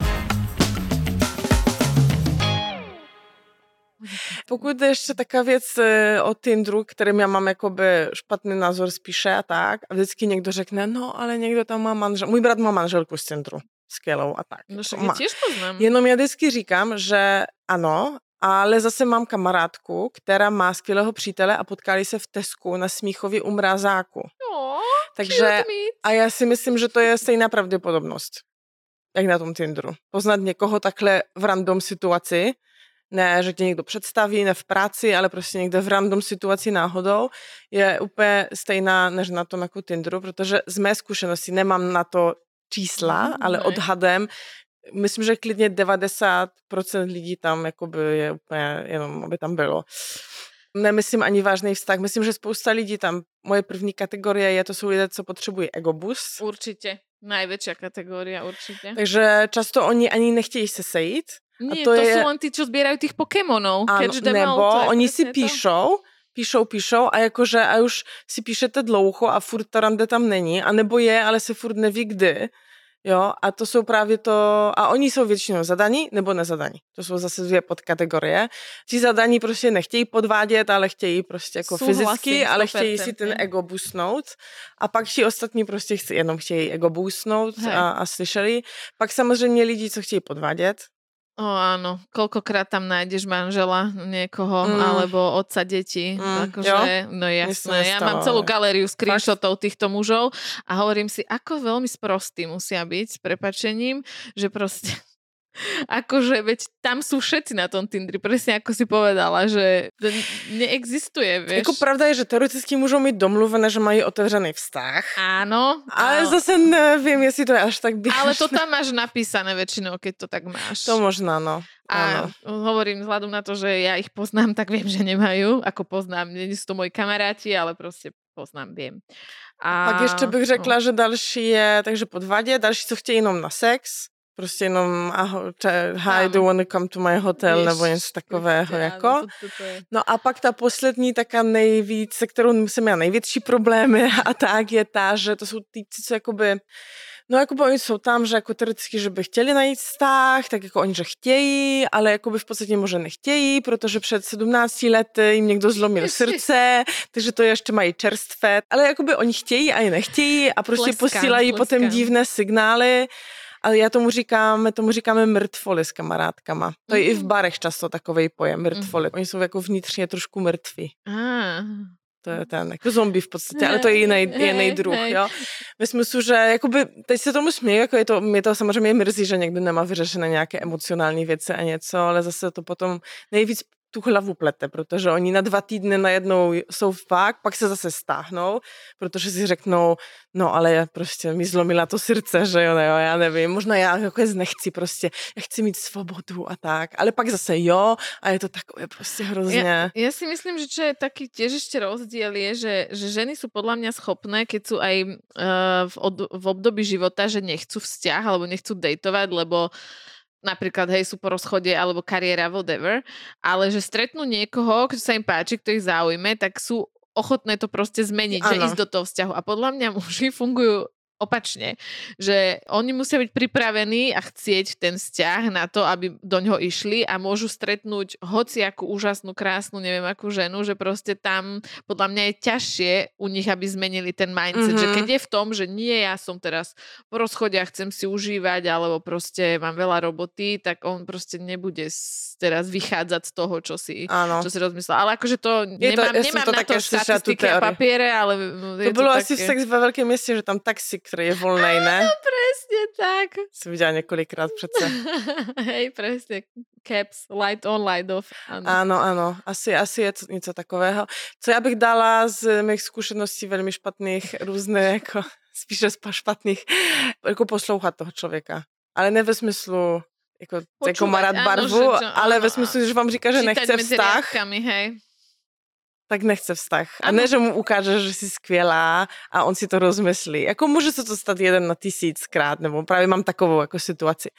Pokud je ještě taková věc o Tinderu, kterým já mám jakoby špatný názor spíše a tak, a vždycky někdo řekne, no ale někdo tam má manžel, můj brat má manželku z Tinderu, skvělou a tak. No však má. ja tiež poznám. Jenom já vždycky říkám, že ano, ale zase mám kamarádku, která má skvělého přítele a potkali se v Tesku na Smíchově u Mrazáku. No, takže a já si myslím, že to je stejná pravděpodobnost, jak na tom Tinderu. Poznat někoho takhle v random situaci, ne, že tě někdo představí, ne v práci, ale prostě někde v random situaci náhodou, je úplně stejná než na tom jako Tinderu, protože z mé zkušenosti nemám na to čísla, Mm, ale ne. odhadem myslím, že klidně devadesát procent lidí tam jakoby je úplně jenom, aby tam bylo. Nemyslím ani vážný vztah, myslím, že spousta lidí tam, moje první kategorie je, to jsou lidé, co potřebují egobus. Určite, najväčšia kategória, určite. Takže často oni ani nechtějí se sejít. Nie, a to, to je... sú len tí, čo zbierajú tých Pokémonov. Ano, Catch them nebo all, to je oni si presne to. píšou, píšou, píšou a jakože a už si píšete dlouho a furt ta rande tam není, a nebo je, ale se furt neví kdy. Jo, a to jsou právě to, a oni jsou většinou zadaní nebo nezadaní. To jsou zase dvě podkategorie. Ti zadaní prostě nechtějí podvádět, ale chtějí prostě jako Súhlasím, fyzicky, ale sto percent. chtějí si ten ego boostnout. A pak ti ostatní prostě chci, jenom chtějí ego boostnout a, a slyšeli. Pak samozřejmě lidi, co chtějí podvádět. O áno, koľkokrát tam nájdeš manžela niekoho, Mm. alebo otca detí. Mm, akože, jo? no jasné, ja stalo, mám celú ale... galériu screenshotov týchto mužov a hovorím si, ako veľmi sprostí musia byť s prepačením, že proste akože, veď tam sú všetci na tom Tindri, presne ako si povedala, že to neexistuje, vieš. Jako pravda je, že teoreticky můžou mít domluvené, že mají otevřený vztah. Áno. Ale áno. zase nevím, jestli to je až tak běžné. Ale to tam máš napísané väčšinou, keď to tak máš. To možná, no. A áno. hovorím vzhľadom na to, že ja ich poznám, tak viem, že nemajú. Ako poznám, nie sú to moji kamaráti, ale proste poznám, viem. A Pak ještě bych řekla, no. že další je, takže podvadě, další, co chtějí jenom na sex, prostě jenom aho, če, hi, do you wanna come to my hotel, nebo něco takového, jako. Áno, to, to, to je. No a pak ta poslední, taká nejvíc, se kterou jsem měla největší problémy a tak je ta, že to jsou týpci, co jakoby, no jakoby oni jsou tam, že jako teoreticky, že by chtěli najít vztah, tak jako oni, že chtějí, ale jakoby v podstatě možná nechtějí, protože před sedmnácti lety jim někdo zlomil srdce, takže to ještě mají čerstvé, ale jakoby oni chtějí a je nechtějí a prostě Tleskám, posílají tleskám. potom divné signály. Ale já tomu říkám, tomu říkáme mrtvoly s kamarádkama. To je mm. i v barech často takovej pojem, mrtvoly. Mm. Oni jsou jako vnitřně trošku mrtví. Ah. To je ten, jako zombie v podstatě, ale to je jiný, jiný druh, jo. Myslím si, že jakoby, teď se tomu směju, jako je to, mě to samozřejmě mrzí, že někdo nemá vyřešené nějaké emocionální věci a něco, ale zase to potom nejvíc tu hlavu plete, protože oni na dva týdny najednou jsou fakt, pak se zase stáhnou, protože si řeknou, no ale já prostě mi zlomila to srdce, že jo, jo, já nevím, možná já jako nechci prostě, já chci mít svobodu a tak, ale pak zase jo a je to takové prostě hrozně. Ja, ja si myslím, že čo je taký tiež ešte rozdiel je, že, že ženy sú podľa mňa schopné, keď sú aj uh, v, od, v období života, že nechcú vzťah alebo nechcú dejtovať, lebo napríklad, hej, sú po rozchode alebo kariéra, whatever, ale že stretnú niekoho, kto sa im páči, kto ich zaujme, tak sú ochotné to proste zmeniť, ano. Že ísť do toho vzťahu. A podľa mňa muži fungujú opačne, že oni musia byť pripravení a chcieť ten vzťah na to, aby do ňoho išli a môžu stretnúť hociakú úžasnú, krásnu, neviem akú ženu, že proste tam podľa mňa je ťažšie u nich, aby zmenili ten mindset, mm-hmm. že keď je v tom, že nie, ja som teraz po rozchode a chcem si užívať, alebo proste mám veľa roboty, tak on proste nebude teraz vychádzať z toho, čo si, čo si rozmyslel. Ale akože to, je nemám, to nemám to na to štatistiky a papiere, ale to, je bylo to asi také... v sex ve veľkém městě, že tam taxik které je volnej, ne? Áno, presne tak. Jsem viděla několikrát přece. Hej, presne. Caps, light on, light off. Ano, ano, ano. Asi, asi je to něco takového. Co já bych dala z mých zkušeností velmi špatných, různé, jako spíše špatných, jako poslouchat toho člověka. Ale ne ve smyslu, jako, jako má rád barvu, ano, že, ale ano, ve smyslu, že vám říká, že nechce vztah. Riadkami, hej. Tak nechce vztah. A ne, že mu ukáže, že jsi skvělá a on si to rozmyslí. Jako může se to stát jeden na tisíckrát, nebo právě mám takovou jako situaci.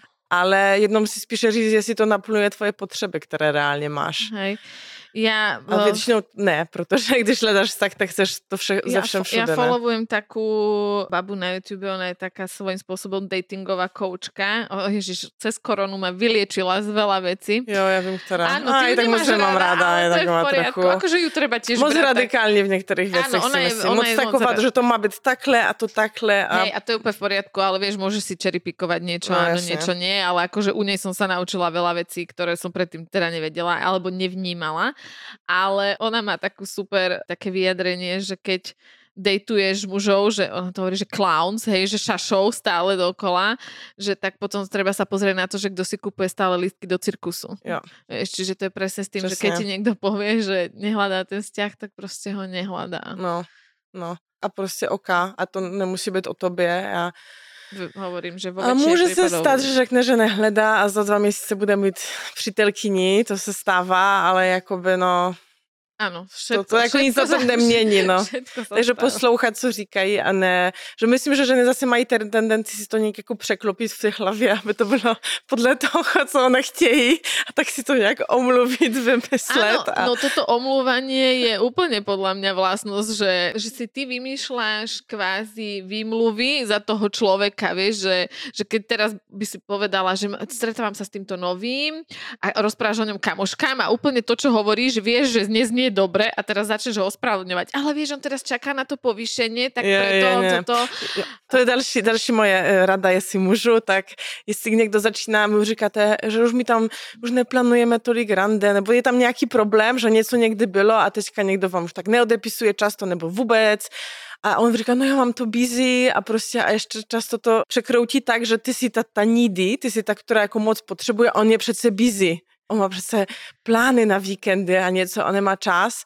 Ale jednou si spíše říct, jestli to naplňuje tvoje potřeby, které reálně máš. Hej. Ja, a většinou ne, protože když hledáš vztah, tak chceš to vše, ze všem všude. Ja followujem takú babu na YouTube, ona je taká svojím spôsobom datingová koučka. O, ježiš, cez koronu ma vyliečila z veľa vecí. Jo, ja vím, ktorá. Áno, ty aj tak moc mám ráda. Ale to je v poriadku. Trochu... Akože ju treba tiež moc brať. Moc radikálne v niektorých veciach si myslím. Moc taková, že to má byť takhle a to takhle. A... Hej, a to je úplne v poriadku, ale vieš, môžeš si cherrypickovať niečo, no, áno, jasne. Niečo nie, ale akože u nej som sa naučila veľa vecí, ktoré som predtým teda nevedela alebo nevnímala. Ale ona má takú super také vyjadrenie, že keď dejtuješ mužov, že ona to hovorí, že clowns, hej, že šašou stále dokola, že tak potom treba sa pozrieť na to, že kto si kupuje stále lístky do cirkusu. Jo. Vieš, čiže to je presne s tým, Presne. Že keď ti niekto povie, že nehľadá ten vzťah, tak proste ho nehľadá. No, no. A proste oka. A to nemusí byť o tobě. A hovorím, že a může se stát, že řekne, že nehledá a za dva měsíce bude mít přítelkyni, to se stává, ale jakoby no... Ano, všetko, to, to jako nic na tom nemění, no. Takže stává. Poslouchat, co říkají a ne, že myslím, že ženy zase mají ten tendenci si to nějak jako překlopit v té hlavě, aby to bylo podle toho, co ona chtějí a tak si to nějak omluvit, vymyslet. Áno, a... no toto omluvanie je úplne podľa mňa vlastnosť, že, že si ty vymýšľaš kvázi výmluvy za toho človeka, vieš, že, že keď teraz by si povedala, že stretávam sa s týmto novým a rozprávaš o ňom kamoškám a úplne to, čo hovoríš, vieš, že neznie dobre a teraz začneš ho ospravedlňovať. Ale vieš, on teraz čaká na to povýšenie, tak je, preto je, toto... To je další, další moje rada, jestli můžu, tak jestli někdo začíná, my už říkáte, že už mi tam, už neplánujeme tolik rande, nebo je tam nějaký problém, že něco někdy bylo a teďka někdo vám už tak neodepisuje často, nebo vůbec. A on říká, no já mám to busy a prostě a ještě často to překroutí tak, že ty si ta, ta needy, ty si ta, která jako moc potřebuje, on je přece busy. On má přece plány na víkendy a něco, on nemá čas,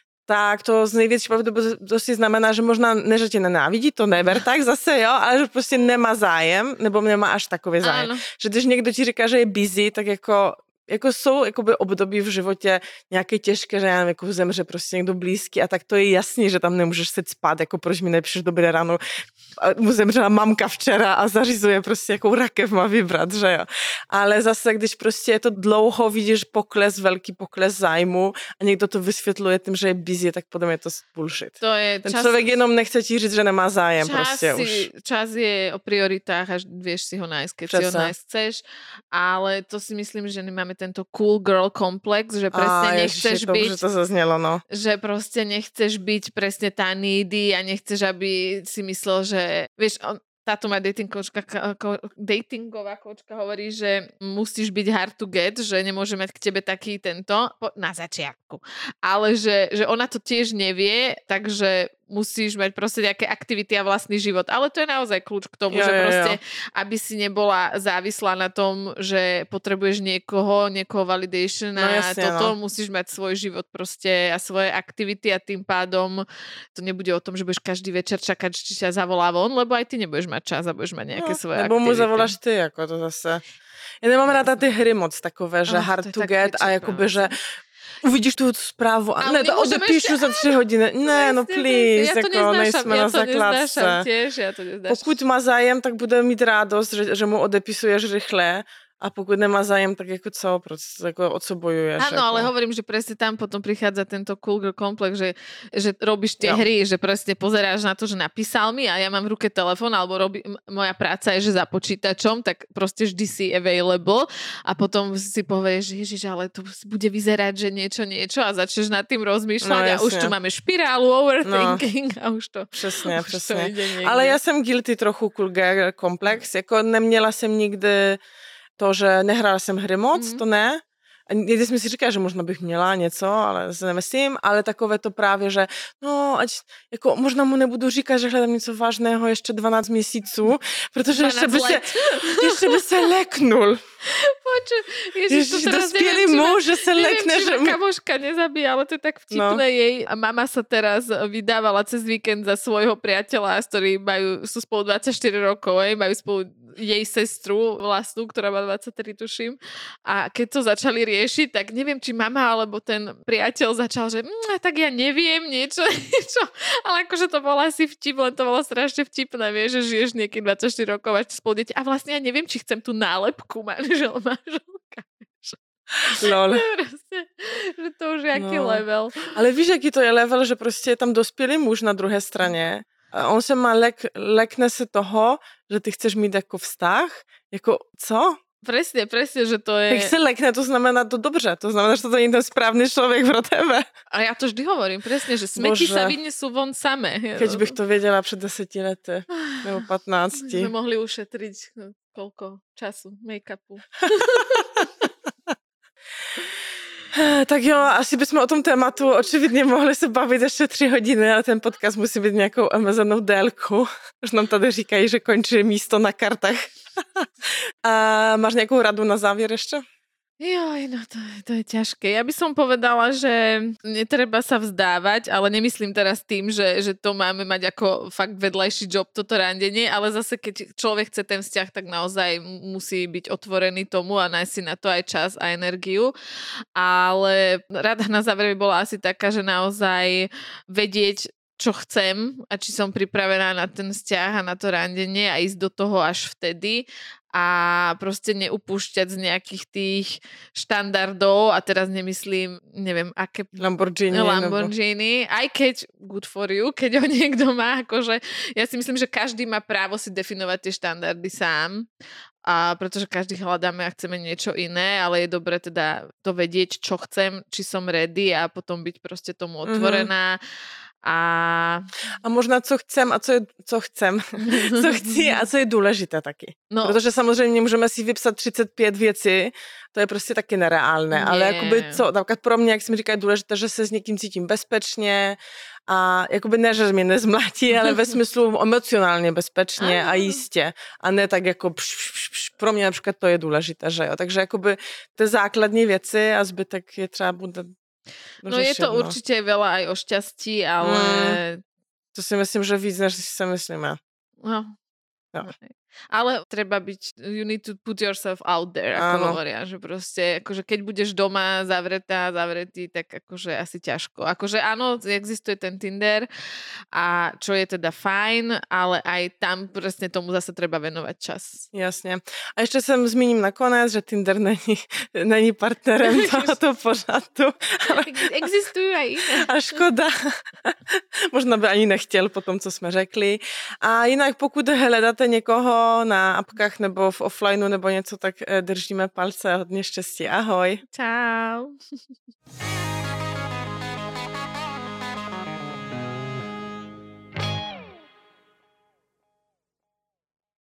tak to z největší pravděpodobností znamená, že možná ne, že tě nenávidí, to neber tak zase, jo, ale že prostě nemá zájem, nebo nemá až takový zájem. Ano. Že když někdo ti říká, že je busy, tak jako jako jsou jakoby období v životě nějaké těžké, že já nevím, jako zemře prostě někdo blízký a tak to je jasný, že tam nemůžeš se spát, jako proč mi nepíšeš dobré ráno, mu zemřela mamka včera a zařizuje prostě jakou rakev má vybrat, že jo. Ale zase, když prostě je to dlouho, vidíš pokles, velký pokles zájmu a někdo to vysvětluje tím, že je busy, tak potom je to bullshit. To je Ten čas... člověk jenom nechce ti říct, že nemá zájem čas prostě si, už. Čas je o prioritách a vieš si ho nájsť, keď Přesne. si ho nájsť chceš, ale to si myslím, že nemáme tento cool girl komplex, že presne a, nechceš ježiši, byť... To, to zaznelo, no. Že proste nechceš byť presne tá needy a nechceš, aby si myslel, že... Vieš, on, táto má dating coachka, datingová coachka hovorí, že musíš byť hard to get, že nemôže mať k tebe taký tento na začiatku. Ale že, že ona to tiež nevie, takže musíš mať proste nejaké aktivity a vlastný život. Ale to je naozaj kľúč k tomu, jo, že proste, jo, jo. aby si nebola závislá na tom, že potrebuješ niekoho, niekoho validation a no, jasne, toto, no. Musíš mať svoj život proste a svoje aktivity a tým pádom to nebude o tom, že budeš každý večer čakať, či ťa zavolá von, lebo aj ty nebudeš mať čas a budeš mať nejaké no, svoje nebo aktivity. Nebo mu zavoláš ty, ako to zase. Ja nemám ráda ty hry moc takové, že oh, hard to get a jakoby, že uvidíš tu zprávu a ne, to odepíšu za tři hodiny. Ne, no please, ja to jako nejsme ja na základce. Tiež, ja to neznášam. Pokud má zájem, tak bude mít rádost, že, že mu odepisuješ rychle. A pokud nemá zájem, tak jako co? Proste, ako, o co bojuješ? Áno, ako? ale hovorím, že presne tam potom prichádza tento cool girl komplex, že, že robíš tie jo. hry, že presne pozeráš na to, že napísal mi a ja mám v ruke telefón, alebo robí, moja práca je, že za počítačom, tak proste vždy si available a potom si povieš, že ježiš, ale to bude vyzerať, že niečo, niečo a začneš nad tým rozmýšľať no, a už tu máme špirálu, overthinking no. a už to... Přesně, už přesně. To ale já jsem guilty trochu cool girl komplex, jako neměla jsem nikdy to, že nehrála jsem hry moc, mm-hmm. to ne, někdy jsme si říkali, že možná bych měla něco, ale se nemyslím, ale takové to právě, že no, ať, jako možná mu nebudu říkat, že hledám něco vážného ještě dvanáct měsíců, protože ještě by, se, ještě by se leknul. Poču, Ježiš, to teraz dospělý neviem, muž, že se lekne, neviem, že... ma kamoška nezabíja, ale to je tak vtipné no. Jej. A mama sa teraz vydávala cez víkend za svojho priateľa, s ktorým majú, sú spolu dvadsaťštyri rokov, jej, majú spolu jej sestru vlastnú, ktorá má dvadsaťtri, tuším. A keď to začali riešiť, tak neviem, či mama alebo ten priateľ začal, že mmm, tak ja neviem niečo, niečo. Ale akože to bolo asi vtip, len to bolo strašne vtipné, vieš, že žiješ niekým dvadsaťštyri rokov a spolu deti. A vlastne ja neviem, či chcem tú nálepku manžel, manželka. Lol. Prostě, že to už je jaký no. level. Ale víš, jaký to je level, že prostě je tam dospělý muž na druhé straně. A on se má lek, lekne se toho, že ty chceš mít jako vztah. Jako, co? Presne, presne, že to je... Jak se lekne, to znamená to dobře. To znamená, že to není ten správný člověk pro tebe. A já to vždy hovorím, presne, že smeti Bože. sa vynesú von samé. Keď bych to věděla před deseti lety, nebo patnácti. Jsme mohli ušetriť koľko času, make-upu. Tak jo, asi bychom o tom tématu očividně mohli se bavit ještě tři hodiny, ale ten podcast musí být nějakou omezenou délku. Už nám tady říkají, že končí místo na kartách. A máš nějakou radu na závěr ještě? Joj, no to, to je ťažké. Ja by som povedala, že netreba sa vzdávať, ale nemyslím teraz tým, že, že to máme mať ako fakt vedľajší job, toto randenie, ale zase keď človek chce ten vzťah, tak naozaj musí byť otvorený tomu a nájsť si na to aj čas a energiu. Ale rada na záver by bola asi taká, že naozaj vedieť, čo chcem a či som pripravená na ten vzťah a na to randenie a ísť do toho až vtedy a proste neupúšťať z nejakých tých štandardov a teraz nemyslím, neviem, aké Lamborghini. Lamborghini, nebo... aj keď good for you, keď ho niekto má, akože ja si myslím, že každý má právo si definovať tie štandardy sám, a pretože každý hľadáme a chceme niečo iné, ale je dobre teda to vedieť, čo chcem, či som ready a potom byť proste tomu otvorená. Mm-hmm. A... a možná co chcem a co je, co chcem, co chci a co je důležité taky. No. Protože samozřejmě můžeme si vypsat třicet pět věcí, to je prostě taky nereálné, nie. Ale jakoby co, například pro mě, jak si mi říká, je důležité, že se s někým cítím bezpečně a jakoby ne, že mě nezmlátí, ale ve smyslu emocionálně bezpečně a jistě a ne tak jako pš, pš, pš, pro mě například to je důležité, že jo, takže jakoby ty základní věci a zbytek je třeba bude. No je to no. Určite veľa aj o šťastí, ale... Mm, to si myslím, že víc, než si sa myslíme. No. No. Ale treba byť, you need to put yourself out there, ako Áno. hovoria, že proste, akože keď budeš doma zavretá, zavretý, tak akože asi ťažko. Akože áno, existuje ten Tinder a čo je teda fajn, ale aj tam presne tomu zase treba venovať čas. Jasne. A ešte som zmíním nakonec, že Tinder není, není partnerem tohoto pořadu. Existujú aj iné. A škoda. Možná by ani nechtěl po tom, co jsme řekli. A jinak pokud hledáte někoho na apkách nebo v offlineu nebo něco, tak držíme palce a hodně štěstí. Ahoj. Čau.